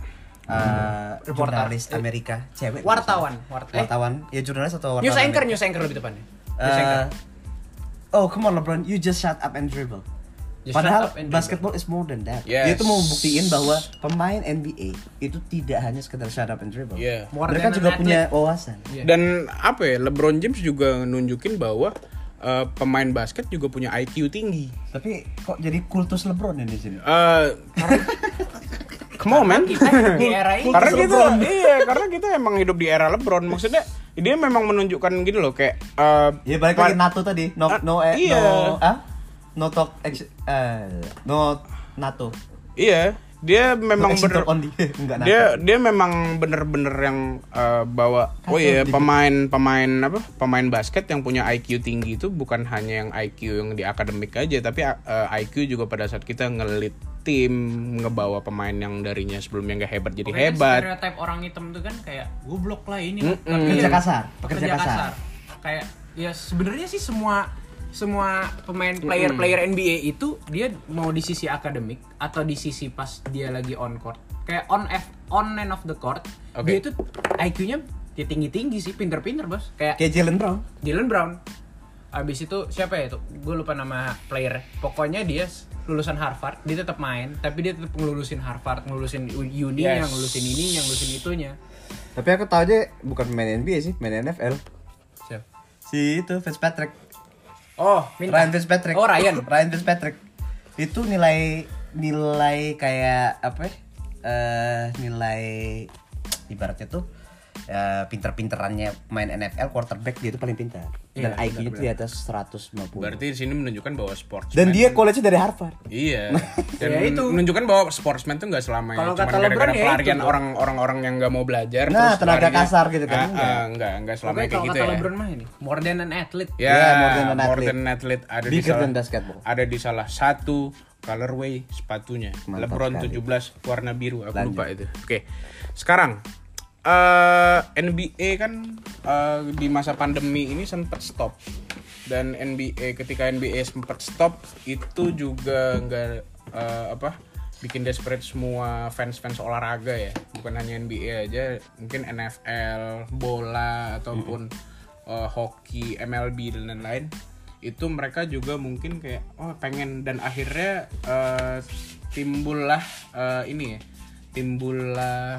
uh, Reporter. jurnalis Amerika cewek. Wartawan, wart- eh, Wartawan, ya jurnalis atau wartawan? news anchor, Amerika. news anchor lebih tepatnya. News anchor. Uh, oh come on LeBron, you just shut up and dribble. Just Padahal shut up and basketball is more than that. Yes. Dia itu mau buktiin bahwa pemain N B A itu tidak hanya sekedar shut up and dribble. Yeah. More Mereka than juga an punya athlete. wawasan. Iya. Dan apa ya? LeBron James juga nunjukin bahwa uh, pemain basket juga punya I Q tinggi. Tapi kok jadi kultus LeBron ini di sini? Uh, Come on man. Kita di era ini Karena Kultus kita LeBron. iya, karena kita emang hidup di era LeBron. Maksudnya dia memang menunjukkan gitu loh kayak uh, Ya balik lagi NATO tadi, no Ah, no eh, iya. no ah? No talk ex, eh, no NATO. Iya, dia memang No exit bener talk only. Enggak NATO. dia dia memang bener-bener yang uh, bawa oh iya Kacau, pemain pemain apa pemain basket yang punya I Q tinggi itu bukan hanya yang I Q yang di akademik aja tapi uh, I Q juga pada saat kita ngelit tim ngebawa pemain yang darinya sebelumnya nggak hebat jadi Pokoknya hebat. stereotype orang hitam tuh kan kayak goblok lah ini. Mm-mm. Tapi Pekerja ya, kasar, pekerja pekerja kasar. kasar. Kayak ya sebenarnya sih semua semua pemain player-player N B A itu dia mau di sisi akademik atau di sisi pas dia lagi on court. Kayak on F on and off the court. Oke. Dia itu I Q-nya ya tinggi-tinggi sih, pinter-pinter, Bos. Kayak Kayak Jalen Brown. Jalen Brown. Abis itu siapa ya itu? Gue lupa nama player. Pokoknya dia lulusan Harvard, dia tetap main, tapi dia tetap ngelulusin Harvard, ngelulusin uni, Yes. yang ngelulusin ini, yang ngelulusin itunya. Tapi aku tahu aja bukan pemain N B A sih, main N F L. Siapa? Si itu Fitzpatrick. Oh, minta. Ryan Fitzpatrick. Oh, Ryan. Ryan Fitzpatrick. Itu nilai nilai kayak apa? ya? uh, nilai ibaratnya tuh uh, pinter-pinterannya main N F L quarterback dia tuh paling pintar. Dan Iya, I Q-nya tuh di atas seratus lima puluh. Berarti di sini menunjukkan bahwa sportsman. Dan dia college-nya dari Harvard. Iya. Dan Ya, itu. menunjukkan bahwa sportsman tuh nggak selamanya Kalau cuma kata LeBron gara-gara ya itu pelarian tuh. orang orang yang nggak mau belajar. Nah, terus tenaga larinya- kasar gitu kan, Ah, enggak. ah, enggak, enggak selamanya Pokoknya kayak kalau gitu kata ya. LeBron mah ini more than an athlete. Ya, Yeah, more than an more athlete. than an athlete. Ada di Bigger salah, than basketball. ada di salah satu colorway sepatunya. Mantap LeBron sekali. tujuh belas warna biru, aku Lanjut. lupa itu. Oke. Sekarang eh N B A kan eh, di masa pandemi ini sempat stop. Dan N B A ketika N B A sempat stop itu juga nggak eh, apa bikin desperate semua fans-fans olahraga ya, bukan hanya N B A aja, mungkin N F L, bola ataupun eh, hoki, M L B dan lain-lain. Itu mereka juga mungkin kayak oh pengen, dan akhirnya eh, timbullah eh, ini ya, timbullah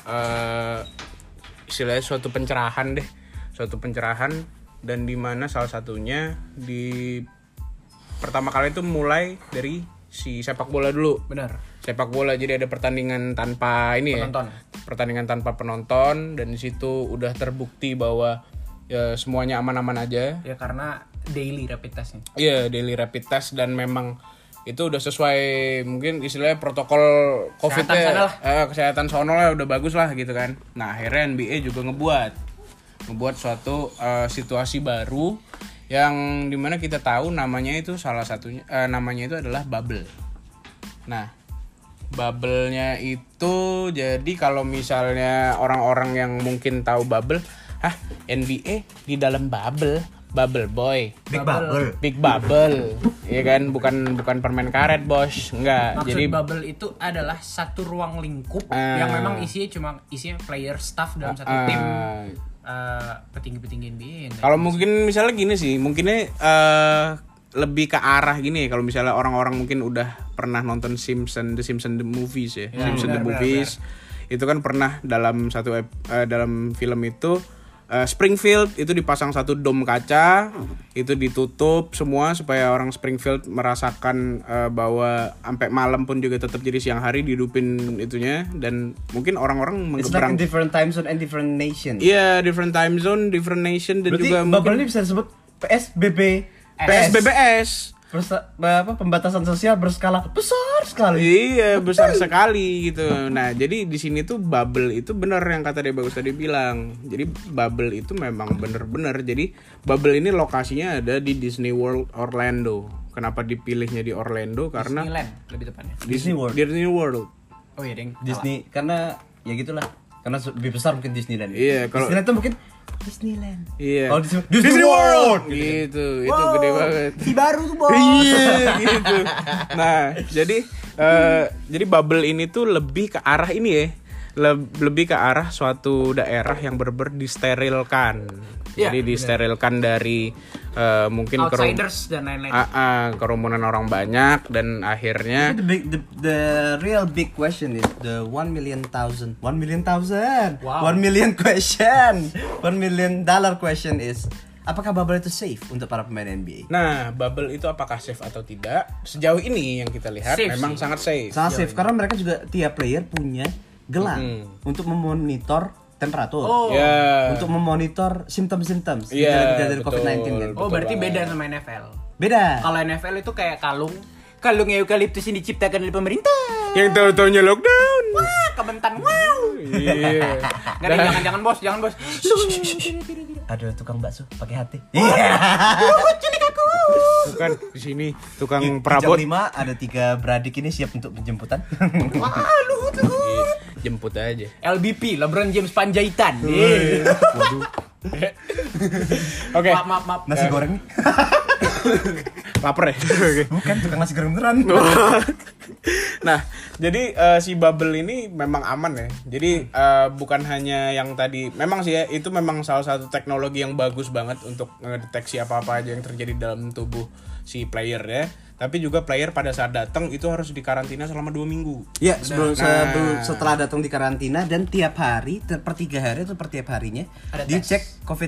eh, istilahnya suatu pencerahan deh, suatu pencerahan, dan dimana salah satunya di pertama kali itu mulai dari si sepak bola dulu. Benar. Sepak bola, jadi ada pertandingan tanpa ini Penonton. ya, pertandingan tanpa penonton, dan di situ udah terbukti bahwa ya semuanya aman-aman aja. Ya karena daily rapid testnya. Iya, daily rapid test, dan memang itu udah sesuai mungkin istilahnya protokol Kesehatan COVID-nya, sana lah. eh, kesehatan sono lah udah bagus lah gitu kan. Nah akhirnya N B A juga ngebuat ngebuat suatu eh, situasi baru yang dimana kita tahu namanya itu salah satunya eh, namanya itu adalah bubble. Nah bubble-nya itu jadi kalau misalnya orang-orang yang mungkin tahu bubble, hah N B A di dalam bubble. Bubble boy, Big bubble. big bubble, ya kan, bukan bukan permen karet bos, enggak. Maksud Jadi bubble itu adalah satu ruang lingkup Ah. yang memang isinya cuma isinya player staff dalam satu ah, tim eh, petinggi-petinggi N B A. yang- kalau mungkin misalnya gini sih, mungkinnya eh, lebih ke arah gini ya. Kalau misalnya orang-orang mungkin udah pernah nonton Simpson, The Simpson the Movies ya, Ya, Simpson the benar, Movies, itu kan pernah dalam satu ep- eh, dalam film itu. Uh, Springfield itu dipasang satu dom kaca, itu ditutup semua supaya orang Springfield merasakan uh, bahwa sampai malam pun juga tetap jadi siang hari dihidupin itunya, dan mungkin orang-orang It's like menggebrang. in different time zone and different nation. Iya, different time zone, different nation, dan Berarti juga bubble mungkin ini bisa disebut P S B B. P S B B S. Persa- apa pembatasan sosial berskala besar sekali. Iya, besar sekali gitu. Nah, jadi di sini tuh bubble itu bener yang kata dia bagus tadi bilang. Jadi bubble itu memang bener-bener. Jadi bubble ini lokasinya ada di Disney World Orlando. Kenapa dipilihnya di Orlando? Karena Disneyland lebih tepatnya. Disney World. Disney World. Oh iya, deng. Disney karena ya gitulah. Karena lebih besar mungkin Disneyland. Iya, kalau- Disneyland tuh mungkin Disneyland. Iya. Oh, Disney, Disney World. Gitu. Gitu, itu gede banget. Si baru tuh, Bos. Iya gitu. Nah, jadi eh, jadi bubble ini tuh lebih ke arah ini ya. Le- lebih ke arah suatu daerah yang bener-bener disterilkan. Iya, Jadi disterilkan dari eh, mungkin kerum- Outsiders dan lain-lain. Ah, ah, kerumunan orang banyak, dan akhirnya The big, the, the real big question is the one million thousand, one million thousand, Wow. one million question, one million dollar question is, apakah bubble itu safe untuk para pemain N B A? nah, bubble itu apakah safe atau tidak? Sejauh ini yang kita lihat Safe memang sih. sangat safe. Sangat safe karena mereka juga tiap player punya gelang untuk memonitor temperatur, Oh. Ya. untuk memonitor simptom-simptom Iya, gejala-gejala dari betul. covid sembilan belas kan. Oh, betul berarti banget. beda sama N F L. Beda. Kalau N F L itu kayak kalung. Kalung eukaliptus yang diciptakan oleh pemerintah. Yang tahu-taunya lockdown. Wah, kebentan. Wow. Iya. Nggak ada, jangan jangan bos, jangan bos. Ada tukang bakso pakai hati. Iya. Tuh kan di sini tukang Jam perabot. lima ada tiga beradik ini siap untuk penjemputan. Wah, luhut luhut. Iya, jemput aja. L B P, LeBron James Panjaitan. Waduh. Oke. Maaf, maaf, maaf. Nasi goreng nih. Laper ya. Oke. Bukan tukang nasi goreng beneran. Nah, jadi eh, si bubble ini memang aman ya. Jadi eh, bukan hanya yang tadi, memang sih ya, itu memang salah satu teknologi yang bagus banget untuk ngedeteksi apa-apa aja yang terjadi dalam tubuh si player ya. Tapi juga player pada saat datang itu harus dikarantina selama dua minggu. Ya, sebelum, Nah. sebelum setelah datang di karantina dan tiap hari ter- per tiga hari atau per tiap harinya Ada dicek covid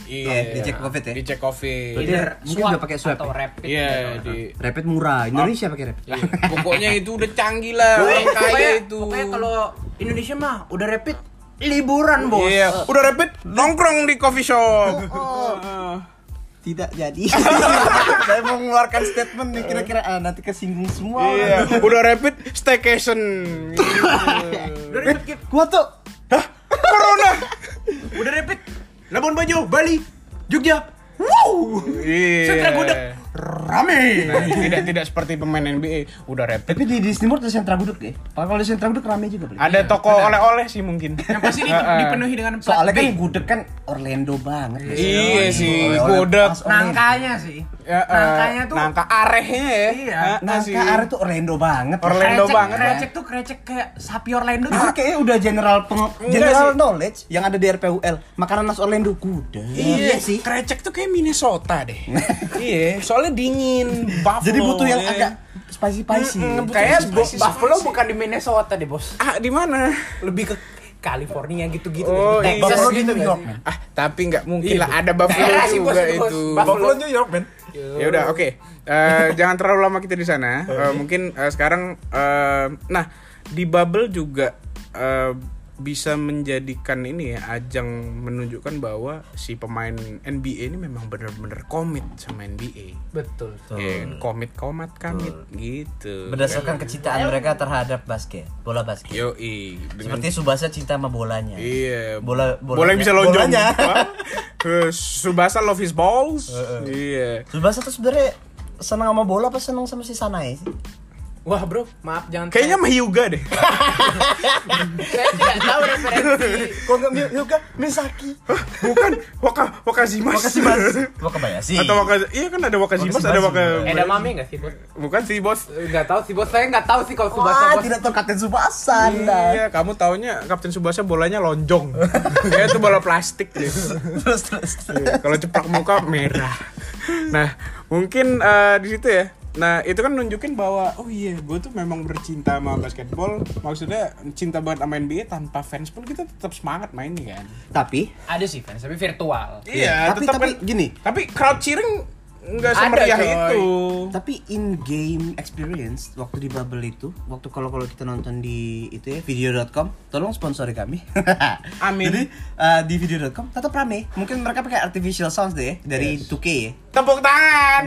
Iya. Dicek Covid ya. Dicek Covid. Berarti Either mungkin swab udah pakai swab atau ya? rapid. Iya, gitu. di Rapid murah. Indonesia pakai rapid. Lah, pokoknya itu udah canggih lah orang kaya Pokoknya, itu. pokoknya kalau Indonesia mah udah rapid liburan, Bos. Iya, udah rapid nongkrong di coffee shop. Oh. Tidak jadi. Saya mau mengeluarkan statement nih kira-kira ah, nanti kesinggung semua. Iya, udah rapid staycation. Gitu. Udah rapid Kip. Gua tuh Corona. Udah rapid. Labuan Bajo, Bali, Jogja. Wow. Iya. Sentra Gudeg. Rame. Nah, tidak tidak seperti pemain N B A udah rapid. tapi di Disney World ada sentra gudeg ya. Kalau di sentra gudeg rame juga beli. Ada toko oleh-oleh sih mungkin. Yang pasti di- Heeh. dipenuhi dengan plat Soalnya kan B. gudeg kan Orlando banget. Iya sih, Oleh-oleh gudeg. pas Orlando. Nangkanya sih. Ya, eh, Nangkanya tuh nangka arehnya ya. Iya. Heeh Nangka sih. are tuh Orlando banget. Orlando krecek, banget, krecek tuh krecek kayak sapi Orlando tuh. Itu kayaknya udah general peng- Enggak general sih. knowledge yang ada di R P U L. Makanan khas Orlando gudeg. Iya sih. Krecek tuh kayak Minnesota deh. Iya, soalnya dingin. Buffalo, Jadi butuh yang ya. agak spicy-spicy. Mm-mm, butuh Kayak yang Bu- spicy, Buffalo spicy. bukan di Minnesota deh, Bos. Ah, di mana? Lebih ke California gitu-gitu. Oh, deh. iya. Texas Buffalo di gitu New nggak York, sih? man. Ah, tapi nggak mungkin Iya, lah ada Buffalo daerah sih, juga Bos, Bos. itu. Buffalo, New York, man. Ya udah, oke. Eh, jangan terlalu lama kita di sana. Eh, mungkin eh, sekarang eh, nah, di Bubble juga eh, bisa menjadikan ini ya ajang menunjukkan bahwa si pemain N B A ini memang benar-benar komit sama N B A. Betul. Ya, komit komat kamit gitu. Berdasarkan kecintaan mereka terhadap basket, bola basket. Yoi, dengan Seperti Subasa cinta sama bolanya. iya, Bola- bola bolanya- yang bisa lonjong. bolanya. Hah? Eh, Subasa love his balls. Iya. Subasa tuh sebenarnya senang sama bola apa senang sama si Sanae sih? Wah, Bro, maaf jangan. Kayaknya mah Hyuga deh. saya tidak tahu referensi. Kok enggak Hyuga Misaki? Bukan Waka Wakazimas. Wakazimas. Wakabayashi. Atau Waka Iya kan ada Wakazimas, ada Waka. Edamame enggak sih, Bos? Bukan sih, Bos. Enggak tahu sih, Bos. Saya enggak tahu sih kalau Subasa, Wah, Bos. tidak tahu Kapten Subasa Anda. Iya, kamu taunya Kapten Subasa bolanya lonjong. Kayak itu bola plastik deh. Terus terus. Iya, kalau cepak muka merah. Nah, mungkin eh, di situ ya. Nah, itu kan nunjukin bahwa oh iya, gue tuh memang bercinta sama basketball. Maksudnya cinta banget sama N B A tanpa fans pun kita tetap semangat mainnya kan. Tapi Ada sih fans, tapi virtual. Iya, tapi tetap tapi kan- gini, Tapi crowd cheering nggak Ada, semeriah coy. itu. tapi in game experience waktu di Bubble itu, waktu kalau kalau kita nonton di itu ya video dot com, tolong sponsori kami. Amin. Jadi eh, di video dot com tetap rame. Mungkin mereka pakai artificial sounds deh ya, dari Yes. two K ya. Tepuk tangan.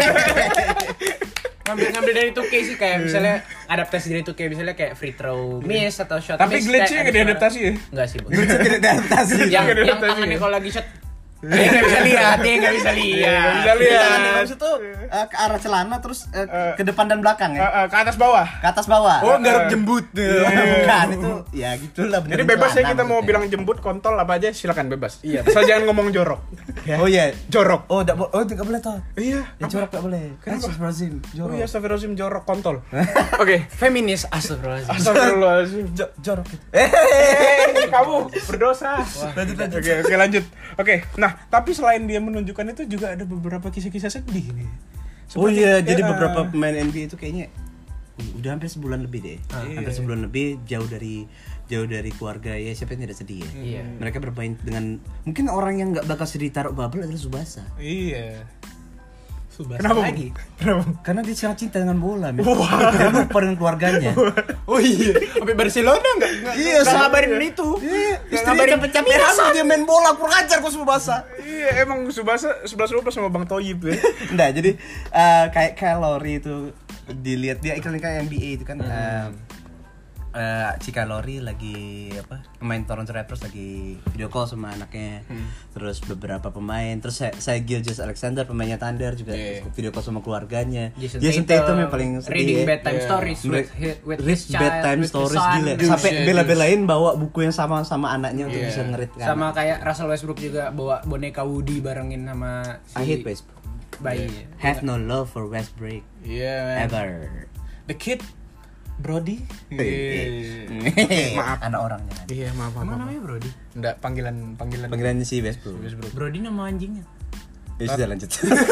Ngambil-ngambil dari two K sih kayak misalnya adaptasi dari two K misalnya kayak free throw miss atau shot Tapi miss. glitch-nya nggak kayak ada diadaptasi ya? suara. Enggak sih, Bos. Glitch tidak diadaptasi. yang Nggak yang diadaptasi tangannya ya? kalau lagi shot dia nggak bisa lihat, dia nggak bisa lihat. Nggak bisa Jadi lihat. tangan di bawah itu eh, ke arah celana terus eh, Eh. ke depan dan belakang Eh, ya. eh, ke atas bawah. Ke atas bawah. Oh, garuk jembut. Bukan itu ya gitulah bener. Jadi bebas ya kita mau bilang jembut, kontol apa aja silakan bebas. Iya. Asal jangan ngomong jorok. Ya. Oh iya. Jorok. Oh, enggak oh enggak boleh toh. Iya. Ya jorok enggak boleh. Kan Astagfirullahaladzim. Oh Jorok. iya, astagfirullahaladzim, jorok kontol. Oke. Feminis astagfirullahaladzim. Astagfirullahaladzim. Jo- jorok gitu. Eh, kamu berdosa. Lanjut, lanjut. Oke, oke lanjut. Oke, nah tapi selain dia menunjukkan itu juga ada beberapa kisah-kisah sedih nih. Oh Seperti- iya, jadi ya, beberapa pemain N B A itu kayaknya udah hampir sebulan lebih deh. Hampir sebulan lebih jauh dari jauh dari keluarga ya, siapa yang tidak sedih ya. Iya. Mereka bermain dengan mungkin orang yang nggak bakal sedih taruh Bubble adalah Subasa. Iya. Subasa Kenapa? lagi. Kenapa? Karena dia sangat cinta dengan bola, men. Dia lupa dengan keluarganya. Oh iya, sampai Barcelona enggak? Iya, Nggak ngabarin itu. Iya, Nggak istrinya ngabarin capek-capek hamil dia main bola, kurang ajar kok Subasa. Iya, emang Subasa sebelas dua belas sama Bang Toyib ya. Enggak, jadi eh, kayak kalori itu dilihat dia iklan-iklan N B A itu kan eh, eh, si Kalori lagi apa main Toronto Raptors lagi video call sama anaknya, terus beberapa pemain, terus saya, saya Gilgeous Alexander pemainnya Thunder juga Yeah. video call sama keluarganya. Jason, Jason Tatum yang paling sedih reading ya. bedtime Yeah. stories with, Re- with read his child, bedtime with his stories son. gila Dude, sampai shit, bela-belain bawa buku yang sama sama anaknya untuk Yeah. bisa ngerit kan. Sama kayak Russell Westbrook juga bawa boneka Woody barengin sama si I hate Westbrook. bayi. Have no love for Westbrook Iya, man. ever. The kid Brody. Iya. Maaf. Anak orangnya. Iya, maaf, maaf. Emang maaf. namanya Brody? Enggak, panggilan panggilan Panggilannya si Westbrook. Westbrook. Brody nama anjingnya. Ya sudah lanjut.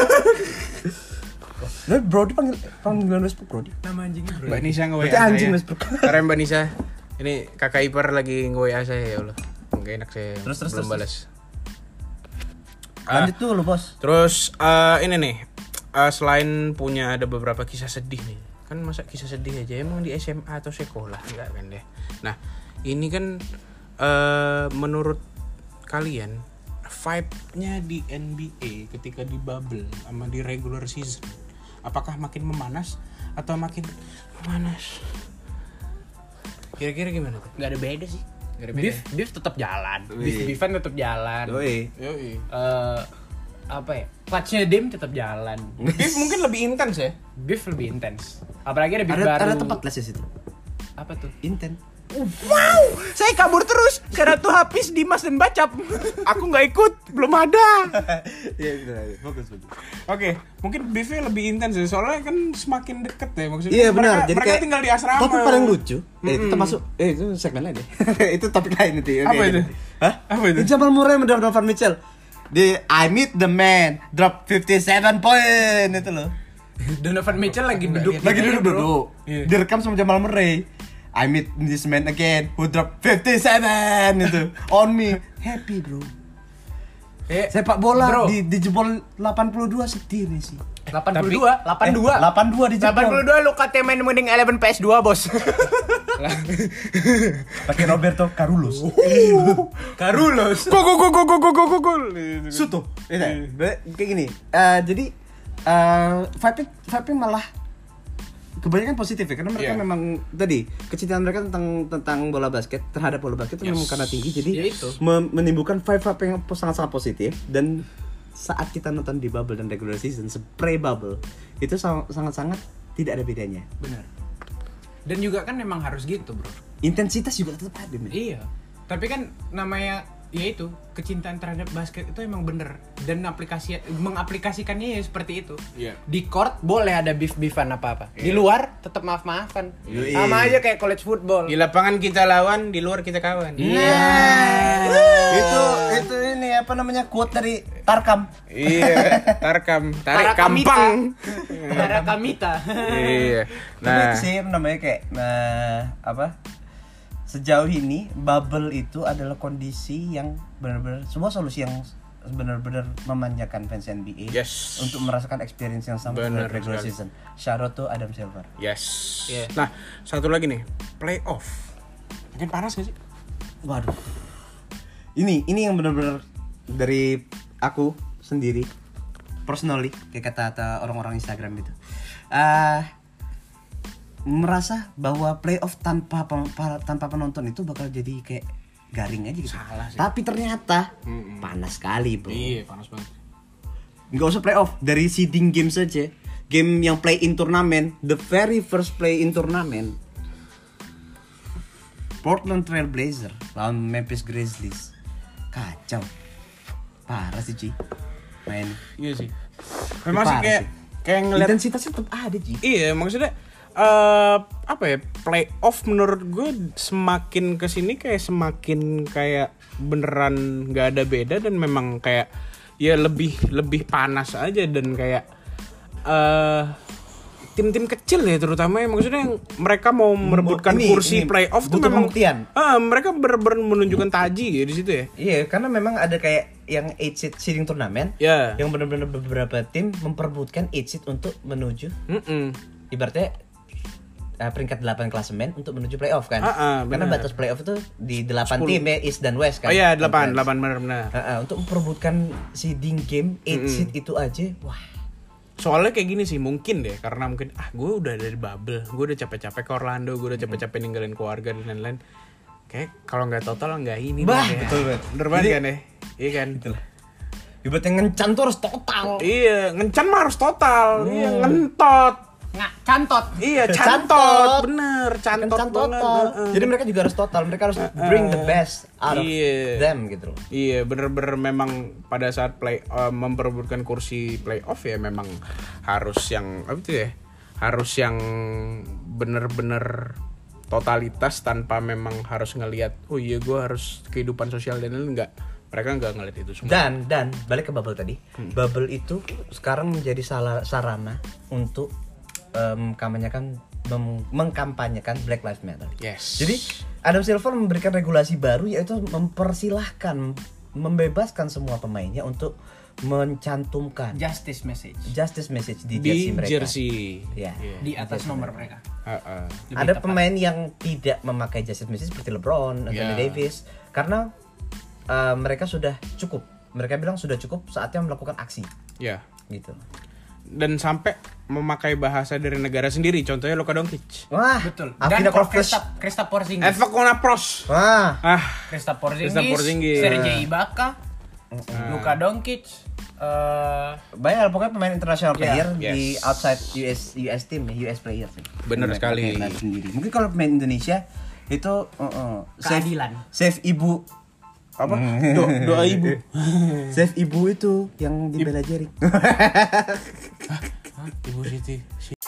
Nah, Brody panggil panggilan Westbrook Brody. Nama anjingnya Brody. Mbak Nisa nge-W A Berarti anjing saya. Westbrook. Karena Mbak Nisa, ini kakak ipar lagi nge-W A saya ya Allah. Enggak enak saya Terus, terus, belum terus, balas. Lanjut tuh lu, Bos. Terus uh, ini nih, uh, selain punya ada beberapa kisah sedih nih, kan masa kisah sedih aja emang di S M A atau sekolah enggak kan deh. Nah ini kan uh, menurut kalian vibe-nya di N B A ketika di bubble sama di regular season, apakah makin memanas atau makin memanas? Kira-kira gimana tuh? Nggak ada beda sih. Gak ada beda. Beef, beef tetap jalan. Wih. Beef, beefan tetap jalan. Yoi. Yoi. Eh, apa ya? Clutch-nya Dim tetap jalan. Beef mungkin lebih intens ya. Beef lebih intens. Apalagi ada beef Ada baru. ada tempat les di situ. Apa tuh? Inten. Wow, saya kabur terus karena tuh habis Dimas dan Bacap. Aku nggak ikut, belum ada. Iya, benar. Fokus, fokus. Oke, mungkin beefnya lebih intens ya, soalnya kan semakin deket ya maksudnya. Iya benar. Mereka, Jadi mereka kayak tinggal di asrama. Topik paling lucu. Eh, itu Mm-mm. termasuk eh itu segmen lain deh. Itu topik lain itu. Oke, Apa oke. itu? Hah? Apa itu? Jamal Murray mendraft Donovan Mitchell. Di I meet the man, drop fifty-seven point itu loh. Donovan Mitchell lagi duduk. Lagi di- duduk-duduk. Iya. Direkam sama Jamal Murray. I meet this man again who drop fifty-seven itu on me. Happy, bro. Eh, Sepak bola Bro. di dijebol delapan puluh dua sedih nih sih. delapan puluh dua, delapan puluh dua. Eh, delapan puluh dua dijebol. delapan puluh dua lu katanya main mending eleven P S two, Bos. Pakai Roberto Carlos. Carlos. Go go go go go go go go go. Suto. Iya, be- kayak gini. Eh, jadi eh vibe vibe malah kebanyakan positif ya karena mereka Iya. memang tadi kecintaan mereka tentang tentang bola basket terhadap bola basket itu Yes. memang karena tinggi jadi Ya itu. me- menimbulkan vibe-vibe yang sangat-sangat positif dan saat kita nonton di bubble dan regular season spray bubble itu sang- sangat-sangat tidak ada bedanya. Benar. Dan juga kan memang harus gitu, Bro. Intensitas juga tetap ada, men. Iya. Tapi kan namanya ya itu kecintaan terhadap basket itu emang bener dan aplikasi mengaplikasikannya ya seperti itu. Iya. Di court boleh ada beef-beefan apa-apa. Di luar tetap maaf-maafan. Yoi. Sama aja kayak college football. Di lapangan kita lawan, di luar kita kawan. Nah, itu itu ini apa namanya quote dari Tarkam. Iya, tarkam, tarik Tarakamita. kampang. Tarakamita. Iya. Tapi Nah, itu sih namanya kayak nah, apa? Sejauh ini bubble itu adalah kondisi yang benar-benar sebuah solusi yang benar-benar memanjakan fans N B A Yes. untuk merasakan experience yang sama Benar seperti regular sekali. season. Shout out to Adam Silver. yes. Iya. Nah, satu lagi nih, playoff. Makin panas gak sih? Waduh. Ini ini yang benar-benar dari aku sendiri personally kayak kata-kata orang-orang Instagram gitu. Ah merasa bahwa playoff tanpa pen- pa- tanpa penonton itu bakal jadi kayak garing aja gitu. Salah sih. Tapi ternyata Mm-mm. panas sekali, bro. Iya, panas banget. Nggak usah playoff, dari seeding game saja. Game yang play in turnamen, the very first play in turnamen. Portland Trail Blazer lawan Memphis Grizzlies. Kacau. Parah sih, Ci. Main. Iya sih. Memang sih Parah kayak sih. kayak ngeliat. Intensitasnya tetap ada, Ci. Iya, maksudnya eh apa ya, playoff menurut gue semakin kesini kayak semakin kayak beneran nggak ada beda dan memang kayak ya lebih lebih panas aja dan kayak eh tim-tim kecil ya terutama ya maksudnya yang mereka mau merebutkan ini- kursi ini playoff tuh butuh memang pembuktian. ah, mereka bener-bener menunjukkan taji ya di situ ya. Iya, karena memang ada kayak yang eight seed seeding turnamen Ya. yang benar-benar beberapa tim memperebutkan eight seed untuk menuju Mm-mm. ibaratnya uh, peringkat delapan klasemen untuk menuju playoff kan. Ah, ah, Karena benar. batas playoff itu di delapan sepuluh. tim ya, East dan West kan. Oh iya, delapan, Conference. delapan benar-benar. Ah, ah, untuk memperebutkan seeding game eight seed itu aja, wah. Soalnya kayak gini sih mungkin deh karena mungkin ah gue udah dari bubble, gue udah capek-capek ke Orlando, gue udah capek-capek ninggalin keluarga dan lain-lain. Kayak kalau nggak total nggak ini Bah, deh ya. betul banget. Bener banget Jadi- kan ya? Iya kan? Ibaratnya ngencan tuh harus total. Iya, ngencan mah harus total. Iya, ngentot. Nggak, cantot. Iya, Cantot. cantot. Bener, cantot Kencan banget. total. Heeh. Jadi mereka juga harus total, mereka harus bring the best out of Iya. them gitu loh. Iya, bener-bener memang pada saat play uh, memperebutkan kursi playoff ya memang harus yang apa itu ya? Harus yang bener-bener totalitas tanpa memang harus ngelihat oh iya gue harus kehidupan sosial dan lain enggak. Mereka enggak ngeliat itu semua. Dan dan balik ke bubble tadi. Hmm. Bubble itu sekarang menjadi salah sarana untuk em, kampanyekan mem- mengkampanyekan Black Lives Matter. Yes. Jadi Adam Silver memberikan regulasi baru yaitu mempersilahkan membebaskan semua pemainnya untuk mencantumkan Justice message justice message di, Di jersey mereka. jersey. Ya. Iya. di atas nomor mereka. Heeh. Lebih Ada tepat. pemain yang tidak memakai justice message seperti LeBron, Anthony Ya. Davis karena uh, mereka sudah cukup. Mereka bilang sudah cukup saatnya melakukan aksi Ya. gitu. Dan sampai memakai bahasa dari negara sendiri, contohnya Luka Doncic. Wah, Betul. Avina Dan Korfles. Kristaps Kristaps Porzingis. Eva Konapros. Wah, Ah, Kristaps Porzingis, Kristaps Porzingis. Sergei Ibaka, Luka Doncic, eh banyak lah, pokoknya pemain international player yes. di outside U S U S team ya, U S player sih. Bener Mereka sekali. pakai bahasa sendiri. Mungkin kalau pemain Indonesia itu uh, uh, save, Keadilan. save ibu apa? Do, doa ibu. save ibu itu yang di Bella Jering. Hah, Ibu Siti.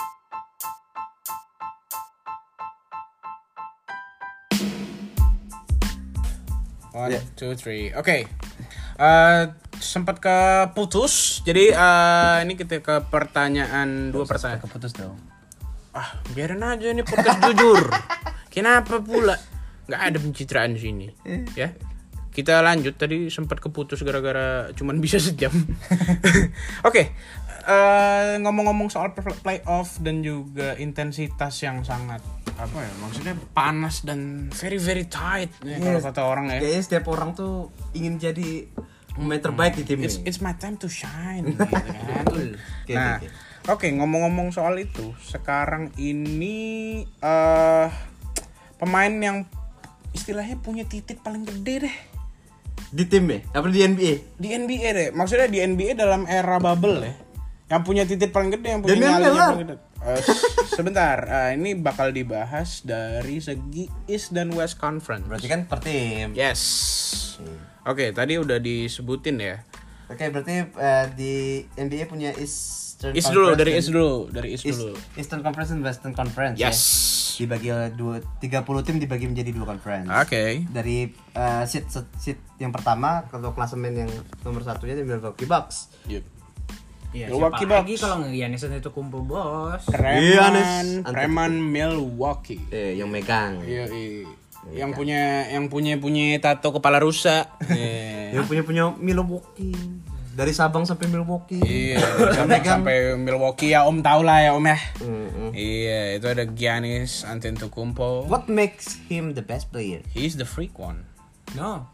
One, Ya. two, three. Oke. Eh, sempat keputus. Jadi eh, ini kita ke pertanyaan dua pertanyaan. Keputus dong. Ah, biarin aja ini podcast jujur. Kenapa pula? Nggak ada pencitraan di sini. Ya. Kita lanjut, tadi sempat keputus gara-gara cuman bisa sejam. Oke. Eh, ngomong-ngomong soal playoff dan juga intensitas yang sangat apa ya? Maksudnya panas dan very very tight ya, kalau Yes. kata orang ya. Kayaknya setiap orang tuh ingin jadi pemain terbaik di tim It's ini. it's my time to shine gitu kan. Oke, Nah, oke, oke ngomong-ngomong soal itu, sekarang ini eh pemain yang istilahnya punya titik paling gede deh Di tim ya? Apa di N B A? di N B A deh. Maksudnya di N B A dalam era bubble ya. Yang punya titik paling gede, yang punya Damian nyali yang Lillard. paling gede. Eh, sebentar, eh, ini bakal dibahas dari segi East dan West Conference. Berarti kan per tim. Yes. Oke, tadi udah disebutin ya. Oke, berarti eh, di N B A punya Eastern East dulu, Conference dari dan- East dulu, dari East East- dulu. Eastern Conference dan Western Conference Yes. ya. Dibagi oleh dua, tiga puluh tim dibagi menjadi dua conference. Oke. Dari eh, seat, seat yang pertama kalau klasemen yang nomor satunya di Milwaukee Bucks. Yep. Iya, Milwaukee siapa lagi Bucks. kalau nggak Giannis itu kumpul bos. Preman, Giannis Preman Milwaukee. Eh, yang megang. Iya, iya. Yang punya yang punya punya tato kepala rusa. Iya. Yang punya punya Milwaukee. Dari Sabang sampai Milwaukee. Iya, sampai sampai Milwaukee ya Om tahu lah ya Om ya. Mm-mm. Iya, itu ada Giannis Antetokounmpo. What makes him the best player? He's the freak one. No.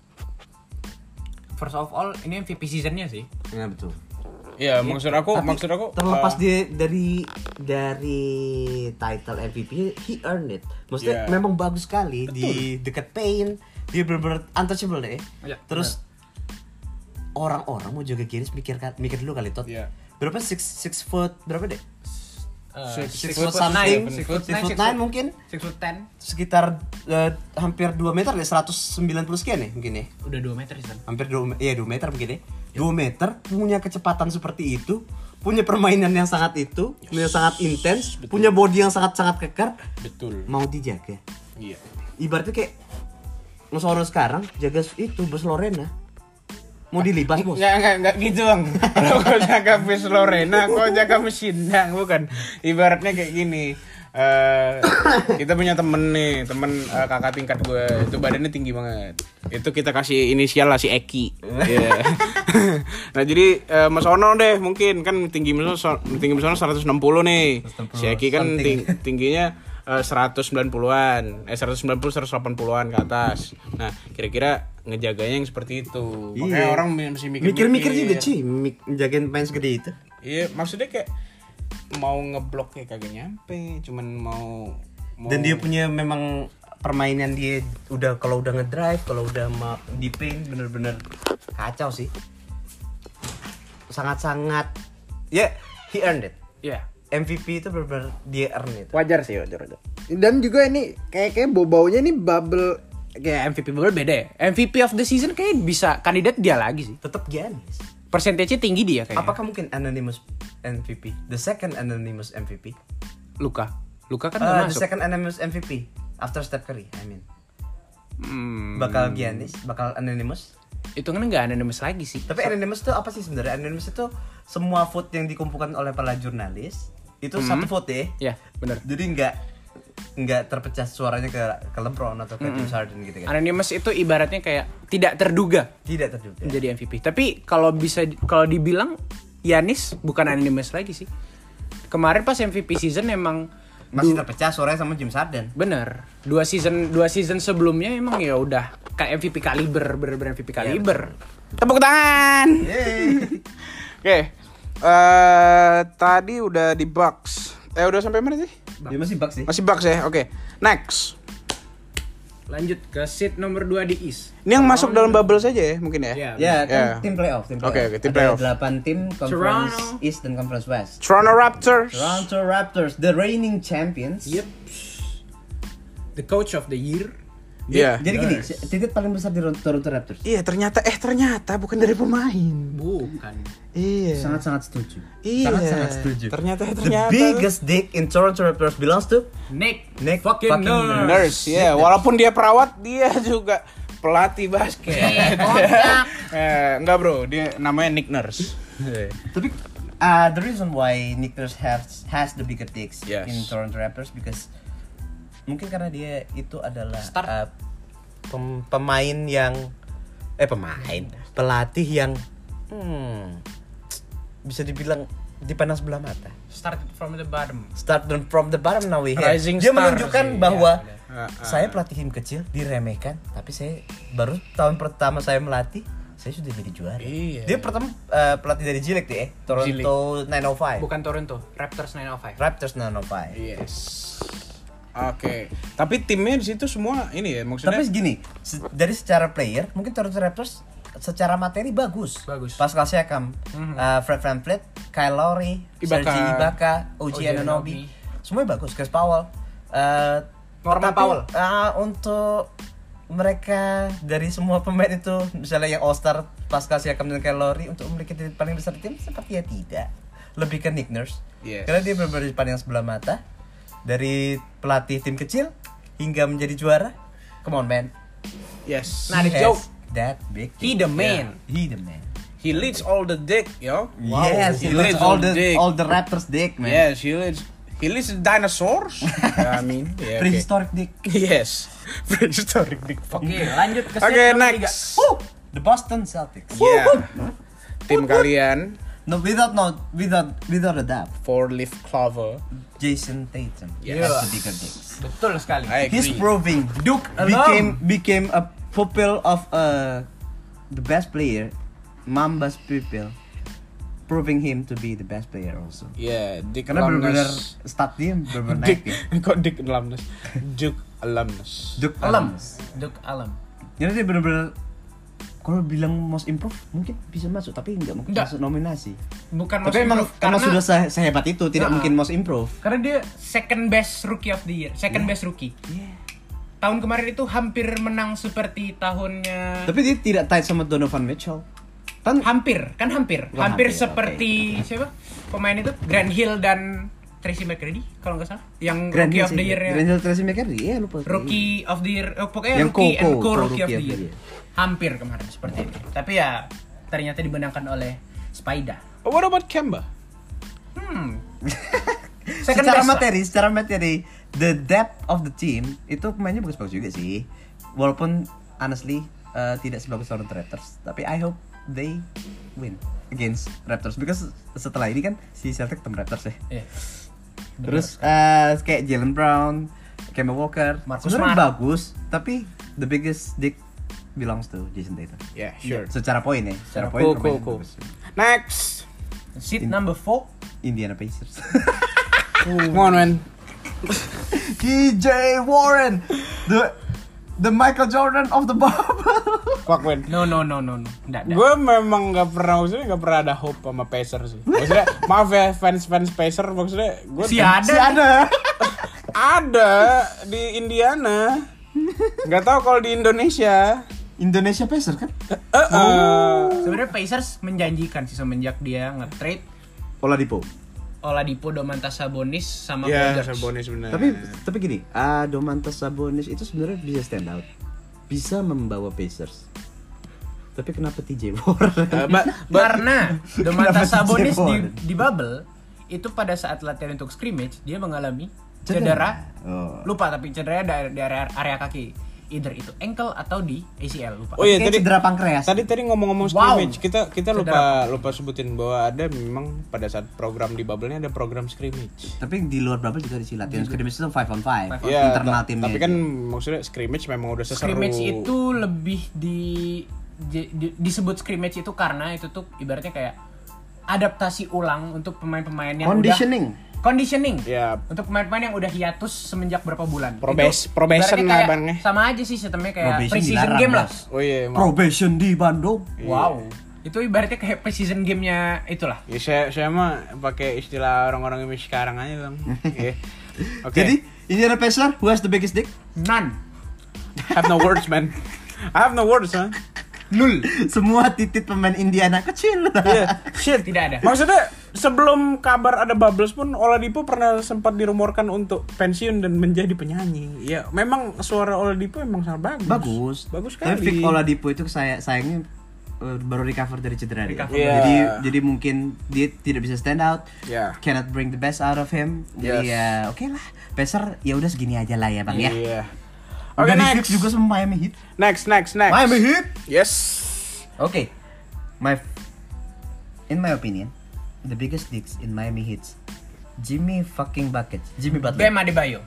First of all, ini M V P seasonnya sih. Ya betul. Iya, maksud aku, Tapi maksud aku terlepas uh, dia dari dari title M V P, he earned it. Maksudnya Yeah. memang bagus sekali di dekat paint, dia benar-benar untouchable deh. Iya, Terus orang-orang mau jaga Giannis mikir mikir dulu kali Tot. Iya. Berapa six six foot berapa deh? Uh, Six- Six six foot foot something, nine, six six foot foot nine, six foot six nine foot- mungkin six foot ten. sekitar eh, hampir dua meter deh, seratus sembilan puluh sekian ya mungkin ya. Udah dua meter sih. Hampir dua iya dua meter mungkin ya. dua meter punya kecepatan seperti itu, punya permainan yang sangat itu, yang sangat intens, punya body yang sangat-sangat kekar, betul. mau dijaga. Iya. Ibaratnya kayak Mas orang sekarang jaga itu Bos Lorena. Mau dilibas, Bos. Enggak, enggak, enggak gitu, Bang. Kalau kau jaga Miss Lorena, kau jaga mesin dang, bukan. Ibaratnya kayak gini. Eh, kita punya temen nih, temen eh, kakak tingkat gue, itu badannya tinggi banget. Itu kita kasih inisial lah si Eki. Iya. Nah jadi eh, Mas Ono deh mungkin kan tinggi Mas Ono, tinggi Mas Ono seratus enam puluh nih. Si Eki kan ting- tingginya eh, seratus sembilan puluhan, eh seratus sembilan puluh seratus delapan puluhan ke atas. Nah kira-kira ngejaganya yang seperti itu. Makanya Iya. orang masih mikir Mikir-mikir juga, cuy, mik- jagain pemain segede itu. Iya, maksudnya kayak mau ngeblok kayak kagak nyampe, cuman mau, mau Dan dia punya memang permainan dia udah kalau udah ngedrive, kalau udah ma- di paint bener-bener kacau sih. Sangat-sangat ya, yeah, he earned it. Iya. M V P itu bener-bener dia earn itu. Wajar sih, wajar, wajar. Dan juga ini kayak kayak bau-baunya ini bubble kayak M V P bubble beda ya. M V P of the season kayak bisa kandidat dia lagi sih. Tetap Giannis. Persentasenya tinggi dia kayaknya. Apakah mungkin anonymous M V P? The second anonymous M V P? Luka? Luka kan Uh, nggak the masuk. second anonymous M V P after Steph Curry, I mean. Hmm, Bakal Giannis, bakal anonymous. Itu kan nggak anonymous lagi sih. Tapi anonymous itu apa sih sebenarnya? Anonymous itu semua vote yang dikumpulkan oleh para jurnalis itu satu vote ya. Ya, benar. Jadi nggak nggak terpecah suaranya ke ke LeBron atau ke James Harden gitu kan. Anonymous itu ibaratnya kayak tidak terduga Tidak terduga. menjadi M V P. Tapi kalau bisa kalau dibilang Giannis bukan anonymous lagi sih. Kemarin pas M V P season emang Masih du- terpecah suaranya sama James Harden. bener. Dua season dua season sebelumnya emang ya udah kayak M V P kaliber, bener-bener M V P kaliber. Tepuk tangan. Yeay. Oke. Eh tadi udah di Bucks. Eh udah sampai mana sih? Dia masih Bucks sih. Masih Bucks ya. Oke. Next. Lanjut ke seat nomor dua di East. Ini yang masuk dalam bubble saja ya mungkin ya. Iya. Ya, kan Ya. tim playoff, tim playoff. Oke, oke, tim Ada playoff. delapan tim Conference Toronto. East dan Conference West. Toronto Raptors. Toronto Raptors, the reigning champions. Yep. The coach of the year. Iya. Jadi gini, titik paling besar di Toronto Raptors. Iya, ternyata eh ternyata bukan dari pemain. Bukan. Iya. Sangat-sangat setuju. Iya. Sangat-sangat setuju. Ternyata The ternyata. biggest dick in Toronto Raptors belongs to Nick. Nick fucking, fucking nurse. Nurse, ya. Walaupun dia perawat, dia juga pelatih basket. Eh, kontak. eh, enggak bro, dia namanya Nick Nurse. Tapi uh, the reason why Nick Nurse has has the bigger dicks Yes. in Toronto Raptors because mungkin karena dia itu adalah Start. uh, pem- pemain yang eh pemain pelatih yang hmm, bisa dibilang dipandang sebelah mata. Start from the bottom. Start from the bottom now we here. Rising Dia star menunjukkan sih, bahwa ya, Ah, ah. saya pelatih tim kecil diremehkan, tapi saya baru tahun pertama saya melatih saya sudah jadi juara. Iya. Dia pertama uh, pelatih dari G-League deh, eh. Toronto nine oh five. Bukan Toronto, Raptors nine oh five. Raptors nine oh five. Yes. Oke. Tapi timnya di situ semua ini ya maksudnya. Tapi gini, se- dari secara player, mungkin Toronto Raptors secara materi bagus. Bagus. Pascal Siakam, Mhm. uh, Fred VanVleet, Kyle Lowry, Ibaka. Serge Ibaka, O G O G Anunoby, Anunoby. semuanya bagus. Chris Powell, uh, Norman tapi, Powell. uh, untuk mereka dari semua pemain itu, misalnya yang All Star, Pascal Siakam dan Kyle Lowry, untuk memiliki titik paling besar di tim sepertinya tidak. Lebih ke Nick Nurse, Yes. karena dia benar-benar dipandang sebelah mata dari pelatih tim kecil hingga menjadi juara. Come on man. Yes. Nah, He the has joke. that big. He the man. Yeah, he the man. He leads all the dick, yo. Yes, he, leads all the all the Raptors dick, man. Yes, he leads. He leads the dinosaurs. I mean, yeah, okay. Prehistoric dick. Yes. Prehistoric dick. Fuck. Oke, lanjut ke Oke, seat nomor tiga. next. Woo! The Boston Celtics. Yeah. Tim kalian No, without no, without without a doubt, four leaf clover. Jason Tatum Yes. has the bigger dicks. Betul sekali. I He's agree. proving Duke became became a pupil of uh, the best player, Mamba's pupil, proving him to be the best player also. Yeah, Dick Karena benar-benar alumnus. stat dia benar-benar Dick, naik ya. kok Dick alumnus? Duke alumnus. Duke Alam. alumnus. Duke Alam. Jadi dia benar-benar kalau bilang most improve mungkin bisa masuk tapi nggak mungkin Nggak. masuk nominasi. Bukan Tapi most emang improve, emang karena- sudah se- sehebat itu tidak Nah. mungkin most improve. Karena dia second best rookie of the year, second best rookie. Tahun kemarin itu hampir menang seperti tahunnya. Tapi dia tidak tight sama Donovan Mitchell. Kan Hampir, kan hampir, Wah, hampir, hampir, seperti siapa pemain itu Grant Hill dan Tracy McGrady kalau nggak salah, yang Grand rookie Hill of sih. the year-nya. Grand Hill Tracy McGrady, ya lupa. Rookie of the year, oh, pokoknya Yang rookie co- and co- co co- rookie of the year. year. Hampir kemarin seperti itu. Tapi ya ternyata dimenangkan oleh Spider. Oh, what about Kemba? Hmm. Secara best. materi, secara materi, the depth of the team itu pemainnya bagus-bagus juga sih. Walaupun honestly uh, tidak sebagus Toronto Raptors, tapi I hope they win against Raptors because setelah ini kan si Celtic ketemu Raptors ya. Iya. Terus uh, kayak Jalen Brown, Kemba Walker, Marcus sebenarnya Smart. bagus, tapi the biggest dick belongs to Jason Tatum. Yeah, sure. Secara poin ya, secara poin Cool, cool, permainan cool. bagus. Next. Seat number four. Indiana Pacers. Come on, man. T J Warren, the the Michael Jordan of the bubble. Fuck, man. No no no no no. Nggak, nggak. Gue memang gak pernah, maksudnya gak pernah ada hope sama Pacers sih. Maksudnya, maaf ya fans-fans Pacers, maksudnya gue Si ada. Si ada. ada di Indiana. Gak tahu kalau di Indonesia. Indonesia Pacers kan? Eh, eh. Sebenarnya Pacers menjanjikan sih semenjak dia nge-trade Oladipo. Oladipo, Domantas Sabonis sama Ya, Paul George. Sabonis bener. Tapi tapi gini, ah Domantas Sabonis itu sebenarnya bisa stand out. Bisa membawa Pacers. Tapi kenapa T J Warren? Eh, ba- ba- Karena Domantas Kenapa T J Sabonis di, Warren? di bubble itu pada saat latihan untuk scrimmage dia mengalami Cedera. cedera. Oh. Lupa tapi cederanya dari, dari area, area kaki. either itu ankle atau di A C L, lupa. Oh iya, Kayak tadi cedera pankreas. Tadi tadi ngomong-ngomong Wow. scrimmage, kita kita lupa lupa sebutin bahwa ada memang pada saat program di bubble-nya ada program scrimmage. Tapi di luar bubble juga disilat. Yang scrimmage itu five on five. Iya, internal ta- timnya. tapi kan maksudnya scrimmage memang udah seseru. Scrimmage itu lebih di, di- di- disebut scrimmage itu karena itu tuh ibaratnya kayak adaptasi ulang untuk pemain-pemain yang conditioning. udah conditioning. Ya. Untuk pemain-pemain yang udah hiatus semenjak berapa bulan. Probes- Itu probation ibaratnya lah, kayak Bang, ya. sama aja sih sistemnya kayak Probation pre-season dilarang, game lah. Bos. Oh iya, emang. Probation di Bandung. Wow. Itu ibaratnya kayak pre-season game-nya itulah. Ya saya saya mah pakai istilah orang-orang ini sekarang aja, Bang. Iya. Oke. Jadi, Indiana Pacers, who has the biggest dick? None. have no words, man. I have no words, man. Nul. Semua titik pemain Indiana kecil. Iya, shit. Tidak ada. Maksudnya sebelum kabar ada Bubbles pun Oladipo pernah sempat dirumorkan untuk pensiun dan menjadi penyanyi. Ya, memang suara Oladipo emang sangat bagus. Bagus. Bagus Tapi sekali. Vic Oladipo itu saya sayangnya uh, baru recover dari cedera dia. Recover. Iya. Jadi jadi mungkin dia tidak bisa stand out. Ya. Cannot bring the best out of him. Jadi Yes. ya oke lah. Pacer ya udah segini aja lah ya, Bang ya. Iya. Udah Oke, di next. fix juga sama Miami Heat. Next, next, next. Miami Heat. Yes. Oke. My in my opinion, the biggest dicks in Miami Heat, Jimmy fucking Buckets. Jimmy Butler. Bam Adebayo.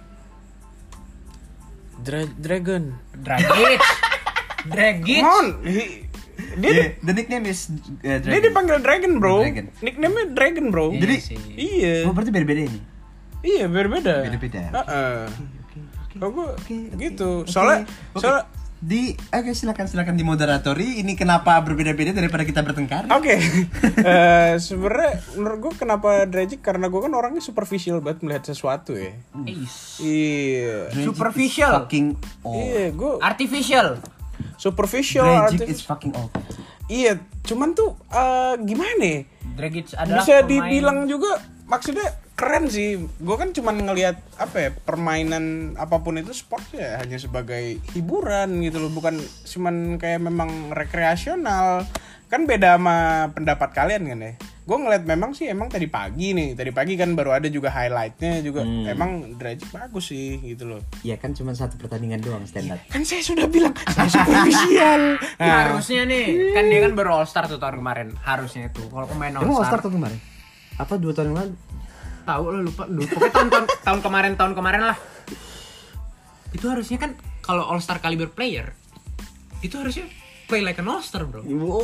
Dra- Dragon. Dragic. Dragic. Come on. He- dia Yeah, the nickname is uh, dia Dragon. dipanggil Dragon, bro. Dragon. Nickname-nya Dragon, bro. Iya Jadi sih. Iya. Oh, berarti beda-beda ini. Iya, beda-beda. Beda-beda. Heeh. Oke, oke. Kalau gue Oke, oke, gitu. oke. Soalnya Oke. soalnya Di oke silakan silakan di moderatori ini kenapa berbeda-beda daripada kita bertengkar? Oke, Eh, sebenarnya menurut gue kenapa Dragic karena gue kan orangnya superficial banget melihat sesuatu ya. Ace. Iya, Dragic Superficial. is fucking old. iya gue Artificial. superficial. Dragic artif- is fucking old. Iya, cuman tuh eh, gimana? ya? Dragic adalah Bisa pemain- dibilang juga maksudnya keren sih. Gue kan cuman ngelihat apa ya permainan apapun itu sport ya hanya sebagai hiburan gitu loh, bukan cuman kayak memang rekreasional. Kan beda sama pendapat kalian kan ya. Gue ngeliat memang sih emang tadi pagi nih, tadi pagi kan baru ada juga highlightnya juga. Emang Dragic bagus sih gitu loh. Ya kan cuma satu pertandingan doang stand up. Kan saya sudah bilang saya superficial. Nah, Harusnya nih, kan dia kan baru All Star tuh tahun kemarin. Harusnya itu kalau pemain All Emang All Star. Star tuh kemarin? Apa dua tahun yang lalu? Tahu lo lupa, lupa. Pokoknya tahun, tahun tahun kemarin tahun kemarin lah. Itu harusnya kan kalau All Star caliber player itu harusnya play like an All Star, bro.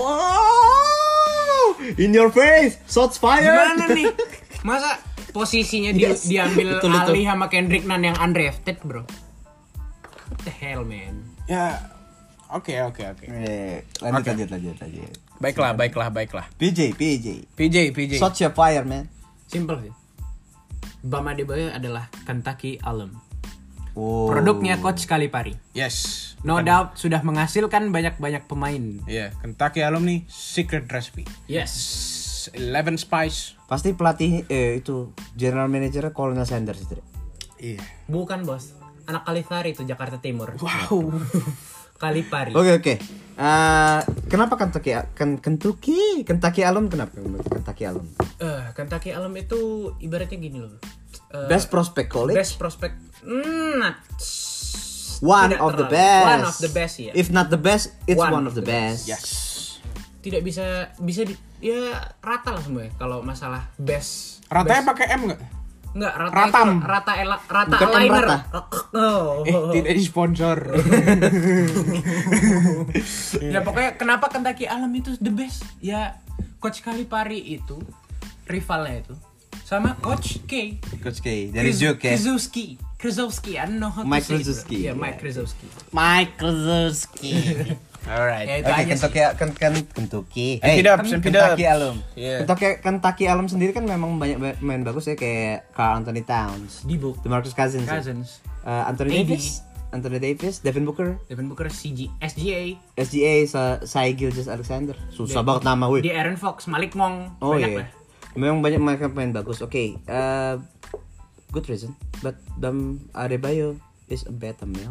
Wow! In your face, shots fired. Gimana nih? Masa posisinya dia Yes, diambil betul itu. alih sama Kendrick Nunn yang undrafted, bro? What the hell, man? ya oke oke oke. Eh, lanjut, lanjut, lanjut, lanjut. Baiklah, baiklah, baiklah. P J, P J. P J, P J. Shots your fire, man. Simple sih. Bam Adebayo adalah Kentucky Alum. Oh. Produknya Coach Calipari. Yes. No doubt sudah menghasilkan banyak-banyak pemain. Iya, Kentucky Alumni Secret Recipe. Yes. Eleven Spice. Pasti pelatih eh itu general manager Colonel Sanders itu. Iya. Bukan, Bos. Anak Calipari itu Jakarta Timur. Wow. Calipari. Oke oke. Eh, kenapa Kentucky Ken, Kentucky Kentucky Alum kenapa Kentucky Alum? Eh, Kentucky Alum itu ibaratnya gini loh. Eh, Best prospect college. best prospect. Hmm, not- One tidak of the terlalu. best. One of the best ya. If not the best, it's one, One of the best. Yes. Tidak bisa bisa di, ya rata lah semua ya kalau masalah best. Ratanya best. pakai M nggak? Enggak, rata Ratam. itu rata ela, rata Bukan M aligner. rata. Oh. Eh, tidak disponsor. Ya pokoknya kenapa Kentucky Alum itu the best? Ya Coach Calipari itu rivalnya itu sama Coach K. Coach K dari Kriz- Duke ya. Krzyzewski. Krzyzewski, I don't know how to Mike say it, bro. Krzyzewski. Iya, Mike Krzyzewski. Mike Krzyzewski. Alright. Ya itu Oke, aja Kentucky sih. kan kan Kentucky. Keep it up, keep it Kentucky up. Alum. Yeah. Kentucky Kentucky Alum sendiri kan memang banyak ba- main bagus ya kayak Karl Anthony Towns, Debo. DeMarcus Cousins, ya. Cousins. Uh, Anthony A D. Davis, Anthony Davis, Devin Booker, Devin Booker C G S G A. S G A, Sa- Shai Gilgeous-Alexander. Susah Di- banget nama weh. Di Aaron Fox, Malik Monk, Oh banyak iya. lah. Memang banyak mereka main bagus. Oke, uh, good reason. But Bam Adebayo is a better male.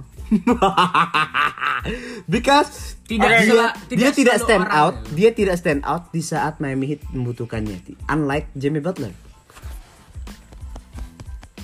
Because Tidak dia, sela- dia tidak tidak selalu stand orang. out, dia tidak stand out di saat Miami Heat membutuhkannya. Unlike Jimmy Butler.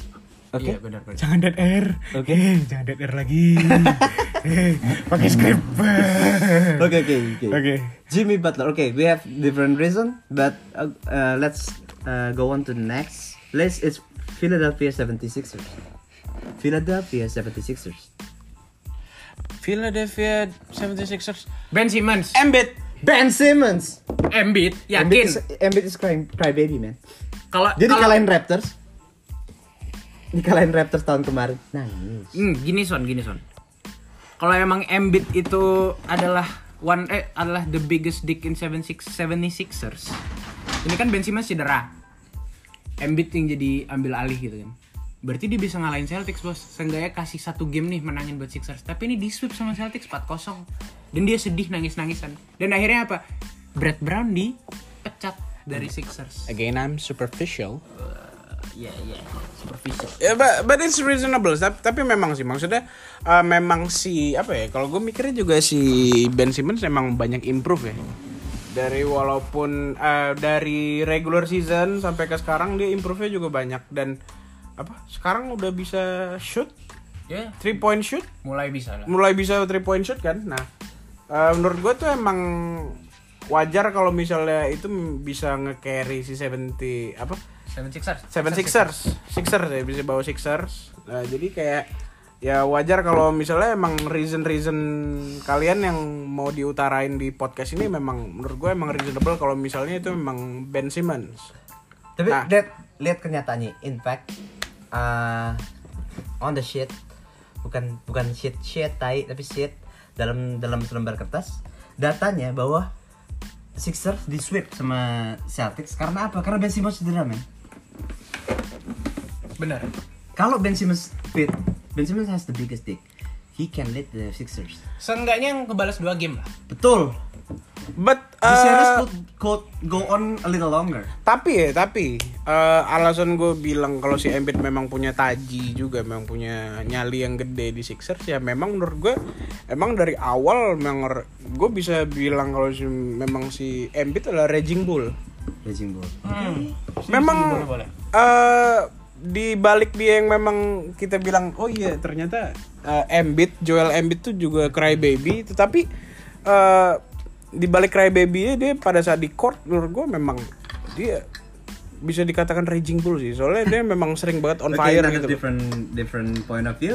Oke. Iya benar-benar. Jangan dead air. Oke. Eh, jangan dead air lagi. Eh, pakai script. Oke oke oke. Oke. Jimmy Butler. Okay, we have different reason, but uh, uh, let's uh, go on to the next. List is Philadelphia seventy-sixers. Philadelphia seventy-sixers. Philadelphia seventy-sixers. Ben Simmons. Embiid. Ben Simmons. Embiid, Embiid yakin. is, Embiid is crying, cry baby man. Kalau Jadi kalau- kalahin Raptors. Dikalahin Raptors tahun kemarin. Nangis. Hmm, gini Son, gini Son. Kalau emang Embiid itu adalah one eh adalah the biggest dick in seventy-sixers. Ini kan Ben Simmons cedera. Embiid yang jadi ambil alih gitu kan. Berarti dia bisa ngalahin Celtics, Bos. Seenggaknya kasih satu game nih menangin buat Sixers. Tapi ini di sweep sama Celtics empat kosong. Dan dia sedih nangis-nangisan. Dan akhirnya apa? Brad Brown dipecat dari Sixers. Again, I'm superficial. Iya, iya. Superficial. Ya, but, but it's reasonable. Tapi, tapi memang sih, maksudnya uh, memang si apa ya? Kalau gue mikirnya juga si Ben Simmons memang banyak improve ya. Dari walaupun uh, dari regular season sampai ke sekarang dia improve-nya juga banyak dan apa? Sekarang udah bisa shoot, Ya, three point shoot, mulai bisa lah. mulai bisa three point shoot kan. Nah, uh, menurut gue tuh emang wajar kalau misalnya itu bisa nge-carry si seventy apa? Seven Sixers. Seven Sixers, Sixers ya bisa bawa Sixers. Nah, jadi kayak ya wajar kalau misalnya emang reason-reason kalian yang mau diutarain di podcast ini memang menurut gue emang reasonable kalau misalnya itu memang Ben Simmons. Tapi Nah. Dad, lihat kenyataannya. In fact, uh, on the sheet, bukan bukan sheet sheet tai, tapi sheet dalam dalam selembar kertas, datanya bahwa Sixers di sweep sama Celtics karena apa? Karena Ben Simmons cedera, men. Benar. Kalau Ben Simmons fit, Ben Simmons has the biggest dick. He can lead the Sixers. Seenggaknya yang kebalas dua game lah. Betul. But The series uh, could, could go on a little longer. tapi ya tapi uh, alasan gue bilang kalau si Embiid memang punya taji juga, memang punya nyali yang gede di Sixers ya memang menurut gue emang dari awal memang gue bisa bilang kalau si, memang si Embiid adalah raging bull. Raging Bull. Hmm. Memang Boleh, boleh. eh di balik dia yang memang kita bilang oh iya ternyata uh, Embiid, Joel Embiid tuh juga crybaby, tetapi uh, di balik crybaby-nya dia pada saat di court menurut gue memang dia bisa dikatakan raging bull sih, soalnya dia memang sering banget on Okay, fire another gitu. different different point of view.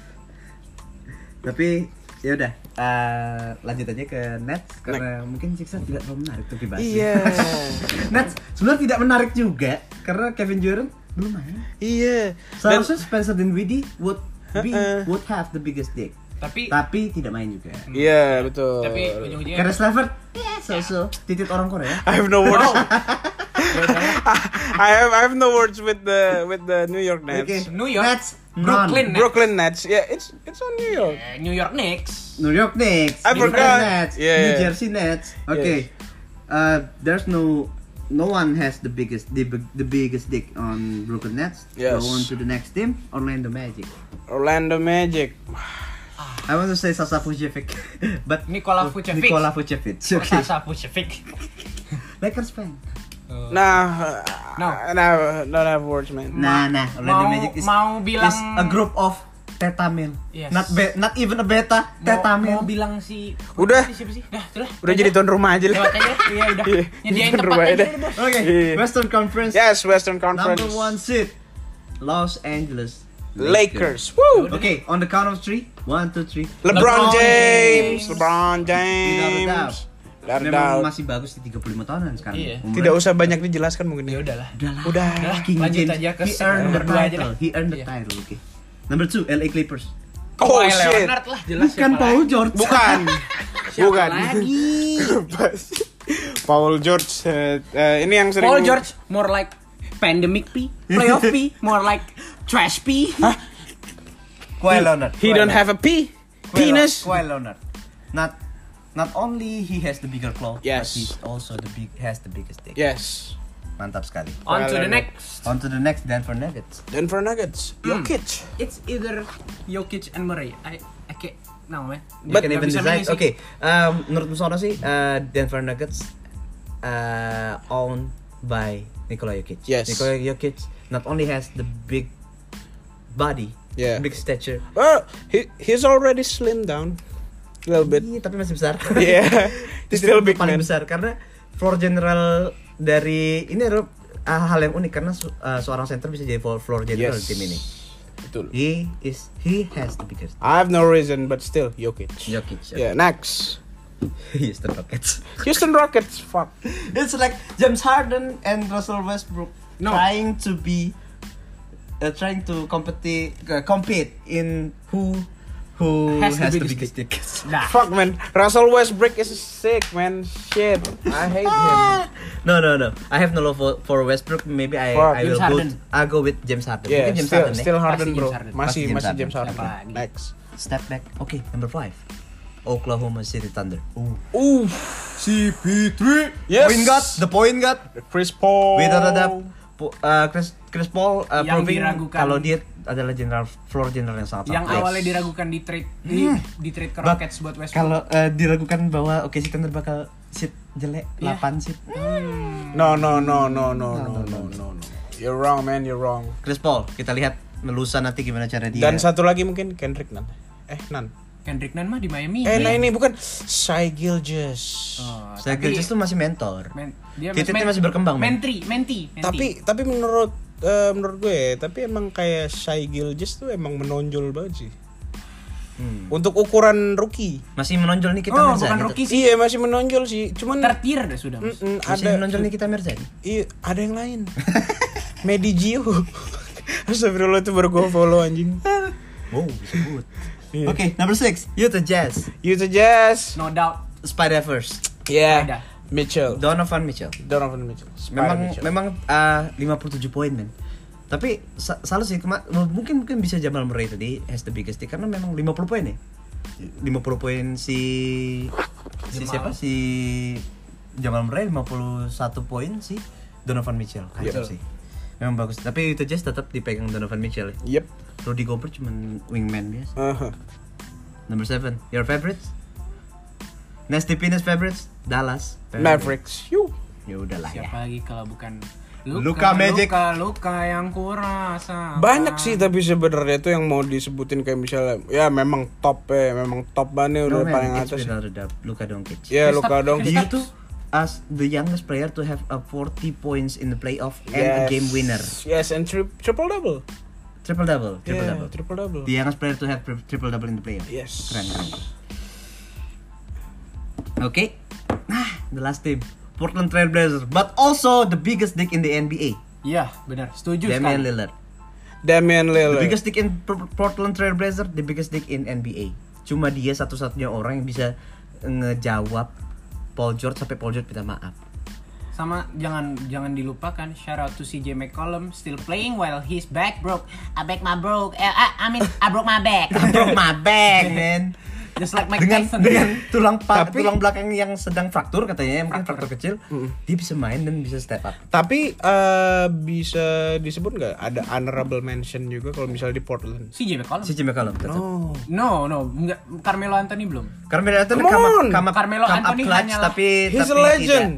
Tapi ya udah uh, lanjut aja ke Nets karena mungkin Sixers tidak terlalu menarik untuk dibahas. Iya. Nets sebenarnya tidak menarik juga karena Kevin Durant belum main. Iya. Dan Seharusnya Spencer Dinwiddie would be Uh-uh. would have the biggest dick. Tapi Tapi tidak main juga. iya betul. tapi ujung-ujungnya Karena Levert, ya so-so titit orang Korea. I have no words. I have I have no words with the with the New York Nets. Okay. New York, Nets, Brooklyn none. Nets. Brooklyn Nets. Yeah, it's it's on New York. Eh, New York Knicks. New York Knicks, I Brooklyn forgot. Nets, Yeah, New yeah. Jersey Nets. Okay, uh, there's no no one has the biggest the, big- the biggest dick on Brooklyn Nets. Yes. Go on to the next team, Orlando Magic. Orlando Magic. I want to say Sasa Vucevic, but Nikola Vucevic. Nikola Vucevic. Okay. Sasa Vucevic. Lakers fan. Nah, No. uh, nah, don't have words, man. Nah, nah, Orlando mau- Magic is, mau bilang- is a group of teta male. Yes. Not be, not even a beta, teta Mau, mau male. bilang si Udah. siapa sih? Dah, itulah. Udah jadi tuan rumah aja lah. Lewat aja. Iya, udah. Iya, Nyediain tuan tempat rumah aja aja. deh, Bos. Okay, Yeah. Western Conference. Yes, Western Conference. Number one seed, Los Angeles Lakers. Woo. Okay, on the count of three, one, two, three. LeBron, LeBron James. James. LeBron Without a James. doubt. Without a Memang doubt. masih bagus di tiga puluh lima tahunan sekarang. Iya. Umurnya. Tidak usah banyak dijelaskan mungkin Ya ya. udahlah. Udahlah. Udah. Udah, King lanjut James. aja ke He earned the berdua aja title. dah. He earned the Iya. title. Okay. Number two, L A Clippers. Oh Kawhi shit. Leonard lah, jelas Bukan siapa Paul lagi. George. Bukan. Siapa Bukan. lagi? Paul George. eh, eh, ini yang sering. Paul George more like pandemic P, playoff P, more like trash P. Kawhi Leonard. He don't have a P. Kawhi Penis. Kawhi Leonard. Not not only he has the bigger claw, Yes. but he also the big has the biggest dick. Yes. Mantap sekali. On to Leonard. the next. On to the next Denver Nuggets. Denver Nuggets. Hmm. Jokic. It's either Jokic and Murray. I I can't no man. You But- can Nggak even bisa decide. milih sih. Oke, um, menurut Musono sih uh, Denver Nuggets uh, owned by Nikola Jokic. Yes. Nikola Jokic not only has the big body, Yeah. big stature. Well, he he's already slim down a little bit. Iya, tapi masih besar. Yeah, he's still big paling man. besar karena floor general dari ini adalah uh, hal yang unik karena su- uh, seorang center bisa jadi floor, floor general Yes. di tim ini. Betul. He is he has the biggest. I have no reason, but still, Jokic. Jokic. Yeah, next. Houston Rockets. Houston Rockets, fuck. It's like James Harden and Russell Westbrook No. trying to be uh, trying to compete uh, compete in who who Has has, the the biggest biggest dick. Nah. Fuck, man. Russell Westbrook is sick, man. Shit. I hate him. No, no, no. I have no love for, for Westbrook. Maybe I Fuck. I will James go. Harden. I go with James Harden. Yeah, Mungkin James still, Harden, eh? still Harden, Pasti bro. James Harden. Masih, Pasti James masih Harden. James Harden. Siapa lagi? Next. Step back. Okay, number five. Oklahoma City Thunder. Ooh. C P three. Yes. Point guard. The point guard. Chris Paul. Without a doubt. Po- uh, Chris Chris Paul uh, Yang proving diragukan. kalau dia adalah general floor general yang sangat Yang sangat awalnya baik. diragukan di trade di, di trade ke But Rockets buat Westbrook. Kalau uh, diragukan bahwa oke si Thunder bakal seat jelek Iya. delapan seat. No, no, no, no, no, no, no, no, no. You're wrong, man. You're wrong. Chris Paul, kita lihat lusa nanti gimana cara dia. Dan satu lagi mungkin Kendrick Nunn. Eh, Nunn. Kendrick Nunn mah di Miami. Eh, nah ya. ini bukan Shai Gilgeous. Oh, Saya tapi- Gilgeous tuh masih mentor. Men, dia Titiknya men- masih berkembang, men. Mentri, menti, menti. Tapi tapi menurut eh, menurut gue, tapi emang kayak Shai Gilgeous tuh emang menonjol banget sih. Hmm. Untuk ukuran rookie. Masih menonjol nih kita oh, Mirzani. bukan rookie sih. Iya, masih menonjol sih. Cuman Tertier dah sudah, Mas. Mm-mm, Masih ada menonjol nih kita Mirzani. Iya, ada yang lain. Medi Gio. Astagfirullah, itu baru gue follow anjing. Wow, disebut. Iya. Oke, number six, Utah Jazz. Utah Jazz. No doubt. Spider first. Yeah. Ada. Mitchell. Donovan Mitchell. Donovan Mitchell. Spider Memang Mitchell. memang uh, lima puluh tujuh poin, men. Tapi sa- salah sih kema- mungkin mungkin bisa Jamal Murray tadi has the biggest stick karena memang lima puluh poin ya. lima puluh poin si si Jamal. siapa si Jamal Murray, lima puluh satu poin si Donovan Mitchell. Kacau Yep. sih. Memang bagus. Tapi Utah Jazz tetap dipegang Donovan Mitchell ya. Yep. Rudy Gobert cuman wingman biasa. Uh-huh. Number seven, your favorites? Nasty Penis favorites? Dallas Mavericks. Yu. Ya udahlah ya. Siapa lagi kalau bukan Luka Magic. Luka, Luka yang kurasa. Banyak sih tapi sebenarnya itu yang mau disebutin kayak misalnya ya memang top ya, memang top banget No, udah man, paling it's atas. without a doubt. Luka Doncic. Ya Luka dong. Dia tuh as the youngest player to have a forty points in the playoff and a game winner. Yes, and tri- triple double. Triple double, triple Yeah, double. triple double. The youngest player to have tri- triple double in the playoff. Yes. Keren, keren. Oke. Nah, the last team. Portland Trail Blazers, but also the biggest dick in the N B A. Iya, benar. Setuju Damian sekali. Lillard. Damian The Lillard. biggest dick in P- Portland Trail Blazers, the biggest dick in N B A. Cuma dia satu-satunya orang yang bisa ngejawab Paul George sampai Paul George minta maaf. Sama jangan jangan dilupakan shout out to C J McCollum still playing while his back broke. I back my broke. Eh, I, I mean I broke my back. I broke my back, man. Just like Mike Dengan Tyson. dengan tulang pa- Tapi- tulang belakang yang sedang fraktur katanya, mungkin fraktur kecil, dia bisa main dan bisa step up. Tapi eh, bisa disebut nggak ada honorable mention juga kalau misalnya di Portland? C J McCollum. Si Jimmy Callum tetap. Oh. No, no, enggak Carmelo Anthony belum. Carmelo Anthony Come come up, on! come up, Carmelo come up Anthony clutch, hanyalah- tapi He's tapi a legend.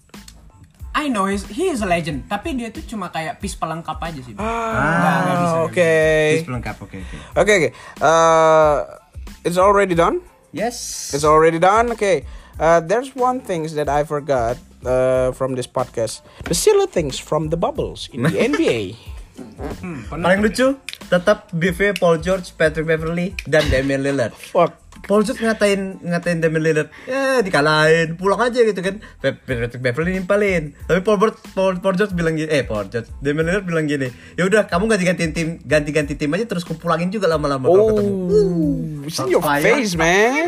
I know he's, he is a legend, tapi dia tuh cuma kayak piece pelengkap aja sih. Ah, Nggak, nggak bisa, nggak oke. Tidak pelengkap, oke oke. Oke oke. Eh, It's already done. Yes. It's already done. Okay. Uh, there's one things that I forgot uh, from this podcast. The silly things from the bubbles in the N B A. Hmm, Paling lucu tetap B V Paul George, Patrick Beverly dan Damian Lillard. Fuck. Paul George ngatain ngatain Damian Lillard, ya dikalahin, pulang aja gitu kan. Pe- Patrick Beverly nimpalin. Tapi Paul George, Paul, Paul George bilang gini, eh Paul George, Damian Lillard bilang gini, ya udah kamu ganti-ganti tim, ganti-ganti tim aja terus kupulangin juga lama-lama kalau ketemu. Oh, it's in your Fire. face, man.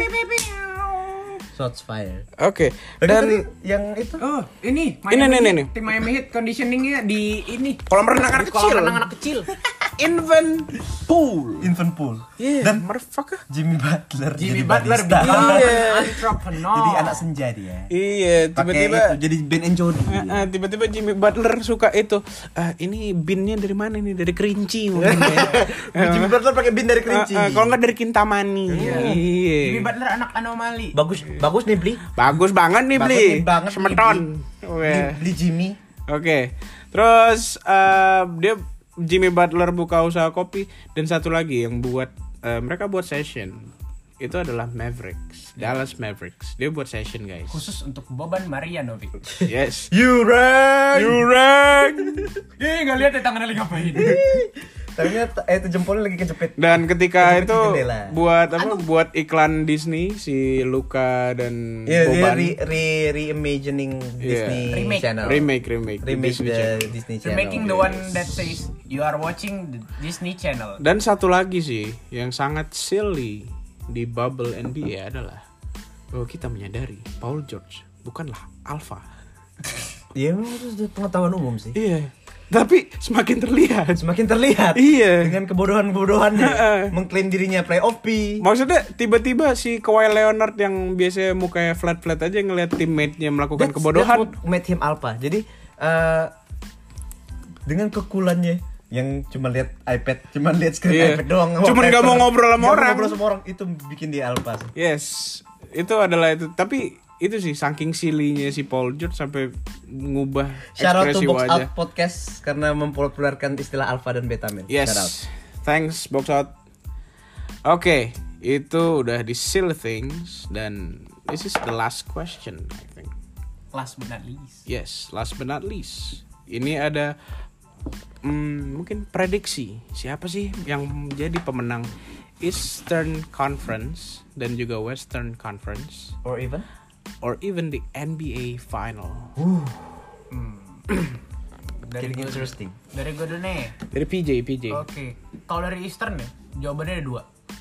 Shots fired. Oke. Dan Dan yang itu Oh, ini Ini, ini, ini, ini. Tim Miami Heat conditioningnya di ini kolam renang anak di kolam kecil. renang anak kecil. Invent pool. infant pool. Yeah, Dan motherfucker. Jimmy Butler Jimmy jadi Butler barista. bikin Iya. entrepreneur. Jadi anak senja dia. Iya, Pakai tiba-tiba itu, jadi Ben and Jody. Eh, eh, tiba-tiba Jimmy Butler suka itu. Ah, ini binnya dari mana nih? Dari Kerinci mungkin ya. Jimmy Butler pakai bin dari Kerinci. Eh, eh, kalau nggak dari Kintamani. Iya. Iya. Jimmy Butler anak anomali. Bagus, bagus nih beli. Bagus banget nih Bagus beli. nih banget nih, Semeton. Bli. Oke. Beli, beli Jimmy. Oke. Terus eh, dia Jimmy Butler buka usaha kopi, dan satu lagi yang buat uh, mereka buat session itu adalah Mavericks, Dallas Mavericks. Dia buat session, guys. Khusus untuk Boban Marjanovic. Yes. You run. You run. Ih, enggak lihat ya tangannya lagi ngapain. Ternyata eh, itu jempolnya lagi kejepit. Dan ketika Kejepit itu di jendela. buat apa? Buat iklan Disney si Luka dan Iya, dia Boban. re, re reimagining Disney Remake. Channel. remake, remake, the Remake Disney the Channel. Disney You're Channel. making the one that says you are watching the Disney Channel. Dan satu lagi sih yang sangat silly di bubble N B A adalah bahwa kita menyadari Paul George bukanlah alpha. Iya, itu pengetahuan umum sih. Iya. Tapi semakin terlihat. Semakin terlihat. Iya. Dengan kebodohan-kebodohannya, mengklaim dirinya playoff P. Maksudnya tiba-tiba si Kawhi Leonard yang biasanya mukanya flat-flat aja ngeliat teammate-nya melakukan That's- kebodohan. that's what made him alpha. Jadi eh, dengan kekulannya yang cuma lihat iPad, cuma lihat screen Iya. iPad doang. Cuman nggak mau ngobrol sama Nggak mau orang. ngobrol sama orang, itu bikin dia alpha sih. Yes, itu adalah itu. Tapi itu sih saking silly-nya si Paul George sampai ngubah Shout out to ekspresi Box wajah. Out Podcast karena mempopulerkan istilah alpha dan beta man. Yes. Shout out. Thanks Box Out. Oke, itu udah di silly things dan this is the last question I think. Last but not least. Yes, last but not least. Ini ada hmm, mungkin prediksi siapa sih yang jadi pemenang Eastern Conference dan juga Western Conference Or even or even the N B A Final. Dari getting gue, interesting. dari gue dulu nih. Dari P J, P J. Oke, kalau dari Eastern ya, jawabannya ada dua.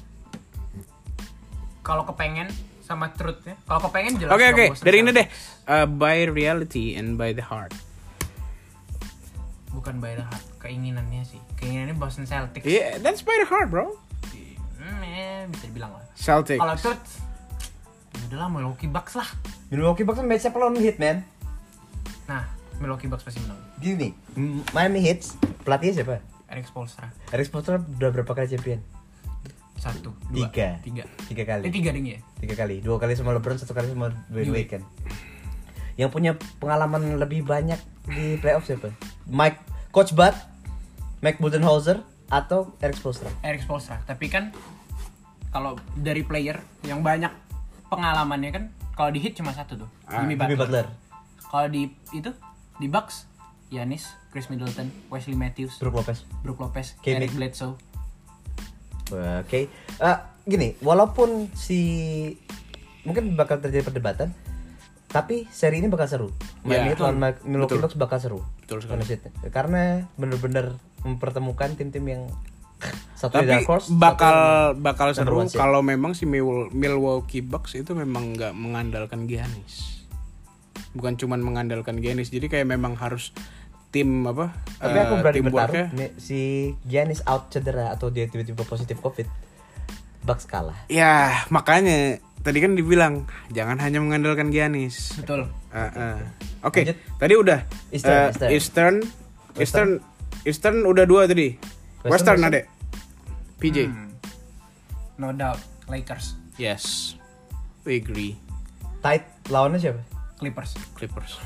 Kalau kepengen sama truth ya. Kalau kepengen jelas. Oke dong oke, Boston dari ini deh. Celtics. Uh, by reality and by the heart. Bukan by the heart, keinginannya sih. Keinginannya Boston Celtics. Yeah, that's by the heart, bro. Hmm, ya, bisa dibilang lah. Celtics. Kalau truth, ya udahlah Milwaukee Bucks lah. Milwaukee Bucks kan match-nya lawan Heat, man. Nah, Milwaukee Bucks pasti menang. Gini nih, Miami Heat pelatihnya siapa? Eric Spoelstra. Eric Spoelstra udah berapa kali champion? Satu, dua, Tiga. tiga. Tiga kali. Eh tiga ding ya. Tiga kali. Dua kali sama LeBron, satu kali sama Dwayne Dwayne. Wade kan. Yang punya pengalaman lebih banyak di playoff siapa? Mike Coach Bud, Mike Budenholzer atau Eric Spoelstra? Eric Spoelstra. Tapi kan kalau dari player yang banyak pengalamannya kan, kalau di Heat cuma satu tuh, Ah, Jimmy Jimmy Butler. Butler, Kalau di itu di Bucks, Giannis, Chris Middleton, Wesley Matthews, Brook Lopez. Brook Lopez, K. Eric Mick. Bledsoe. Oke, Eh, gini, walaupun si mungkin bakal terjadi perdebatan, tapi seri ini bakal seru. Miami Heat betul. lawan Ma- Milwaukee Betul. Bucks bakal seru. Betul sekali. Karena, karena bener-bener mempertemukan tim-tim yang satu di Tapi Dark Horse, bakal satu bakal number seru one seed. kalau memang si Mil- Milwaukee Bucks itu memang nggak mengandalkan Giannis. Bukan cuman mengandalkan Giannis, jadi kayak memang harus tim apa? Tapi eh, aku berani teamworknya. bertaruh nih, si Giannis out cedera atau dia tiba-tiba positif COVID, Bucks kalah. Ya makanya tadi kan dibilang jangan hanya mengandalkan Giannis. Betul. Uh, uh. Oke, Lanjut. tadi udah Eastern, uh, Eastern. Eastern, Eastern, Eastern udah dua tadi. Western, Western, ada. P J. Hmm. No doubt, Lakers, Yes. We agree. Tight lawannya siapa? Clippers. Clippers.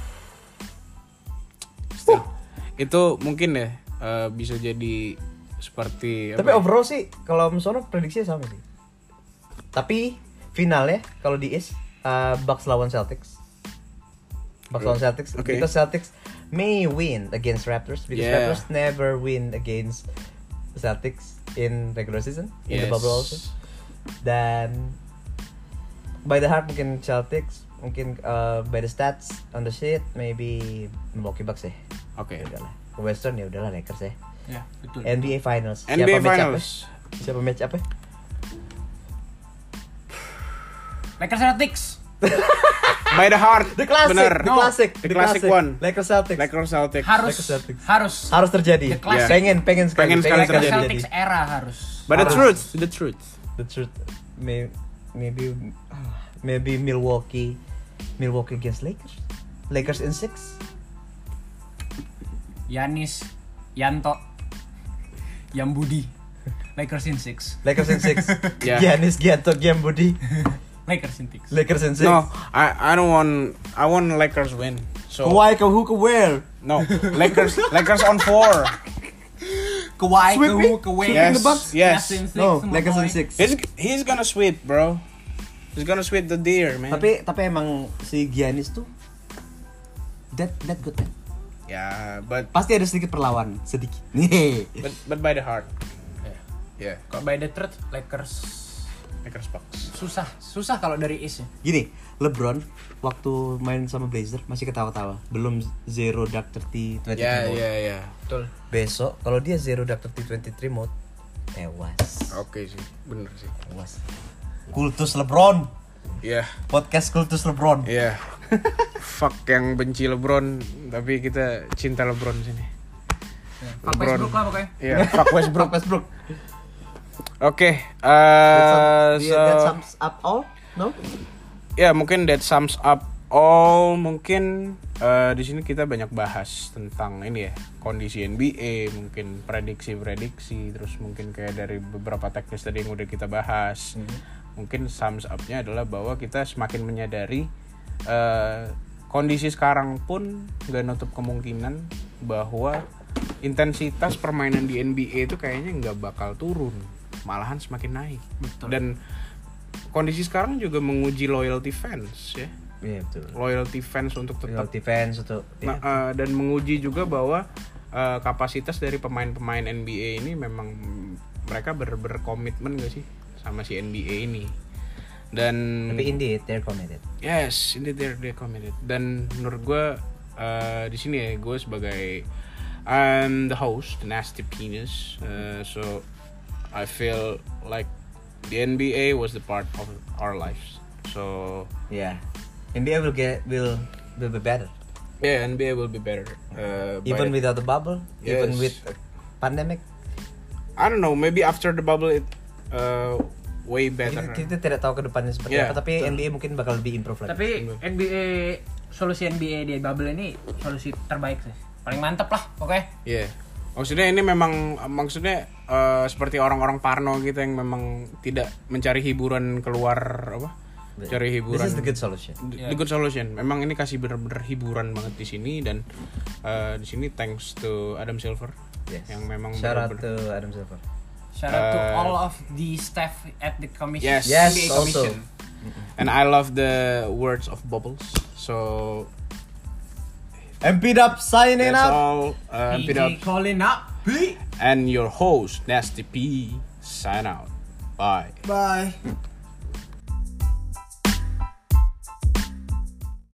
Still. Itu mungkin ya uh, bisa jadi seperti Tapi apa ya? overall sih kalau misalnya prediksinya sama sih. Tapi finalnya kalau di East uh, Bucks lawan Celtics. Bucks lawan Celtics Okay. because Celtics may win against Raptors because Yeah. Raptors never win against the Celtics in regular season in the Yes. bubble also. Dan by the heart mungkin Celtics, mungkin uh, by the stats on the sheet maybe Milwaukee Bucks ya. Oke. Ya udahlah. Ke Western ya udahlah Lakers ya. Ya, betul. N B A Finals. N B A Siapa match Finals. up-nya? Siapa match up ya? Lakers Celtics. By the heart. The classic, Bener. the classic, The classic one. Lakers Celtics. Lakers Celtics. Harus Lakers Celtics. harus Harus terjadi. The classic. Pengen, pengen sekali. Pengen sekali Lakers terjadi. Celtics era harus. But the Harus. truth, the truth. The truth, may, maybe, maybe Milwaukee, Milwaukee against Lakers. Lakers in six. Giannis, Yanto, Yambudi. Lakers in six. Lakers in six. Yeah. Giannis, Gianto, Giambudi. Lakers in six. Lakers in six. No, I I don't want I want Lakers win. So Kawhi, who can wear? no, Lakers Lakers on four. Kawhi, Sweeping? Kawhi, Kawhi. Sweeping Yes, the Bucks? yes. Last in six, No, my Lakers boy. in six. He's he's gonna sweep, bro. He's gonna sweep the deer, man. Tapi tapi emang si Giannis tuh that that good man. Ya, but Pasti ada sedikit perlawan, sedikit. Nih. but but by the heart. Ya. Yeah, Kalau by the truth, Lakers Lakers Bucks. susah, susah kalau dari East ya. Gini, LeBron waktu main sama Blazer masih ketawa-tawa. Belum zero dark thirty twenty-three Ya, mode. ya, ya. Betul. Besok kalau dia zero dark thirty twenty-three mode, tewas. Oke sih, bener sih. Tewas. Kultus LeBron. Iya, Podcast Kultus LeBron. iya. Fuck yang benci LeBron, tapi kita cinta LeBron sini. Pak Westbrook lah pokoknya. Iya, fuck Westbrook. Westbrook. Oke, That eh sums- so that sums up all? No? ya mungkin that sums up all. Mungkin eh, di sini kita banyak bahas tentang ini ya, kondisi N B A, mungkin prediksi-prediksi, terus mungkin kayak dari beberapa teknis tadi yang udah kita bahas. Mungkin sums up-nya adalah bahwa kita semakin menyadari eh, kondisi sekarang pun nggak nutup kemungkinan bahwa intensitas permainan di N B A itu kayaknya nggak bakal turun, malahan semakin naik. Betul. Dan kondisi sekarang juga menguji loyalty fans ya, Iya betul. loyalty fans untuk tetap Loyalty fans untuk Nah, eh, dan menguji juga bahwa eh, kapasitas dari pemain-pemain N B A ini memang mereka ber berkomitmen gak sih sama si N B A ini. Dan tapi indeed they're committed. yes, indeed they're, they're committed. Dan menurut gue eh, di sini ya, gue sebagai I'm the host, the Nasty Penis, eh, so I feel like the N B A was the part of our lives. So Yeah. N B A will get will will be better. yeah, N B A will be better. Uh, by Even the- without the bubble, even Yes. with uh, pandemic. I don't know, maybe after the bubble it uh, way better. Kita, kita tidak tahu ke depannya seperti Yeah, apa, tapi betul. N B A mungkin bakal lebih improve lagi. Tapi N B A, solusi N B A di bubble ini solusi terbaik sih. Paling mantep lah pokoknya. Iya. Yeah. Maksudnya ini memang maksudnya uh, seperti orang-orang Parno gitu yang memang tidak mencari hiburan keluar apa? Cari hiburan. This is the good solution. The, the good solution. Memang ini kasih bener-bener hiburan banget di sini dan uh, di sini thanks to Adam Silver Yes. yang memang Shout out bener-bener- to Adam Silver. Shout out to Uh, all of the staff at the commission. Yes. Yes, N B A also. commission. And I love the words of Bubbles. So M P Dub signing that's up. all. Uh, P P-Dub. J calling up. And your host Nasty P sign out. Bye. Bye.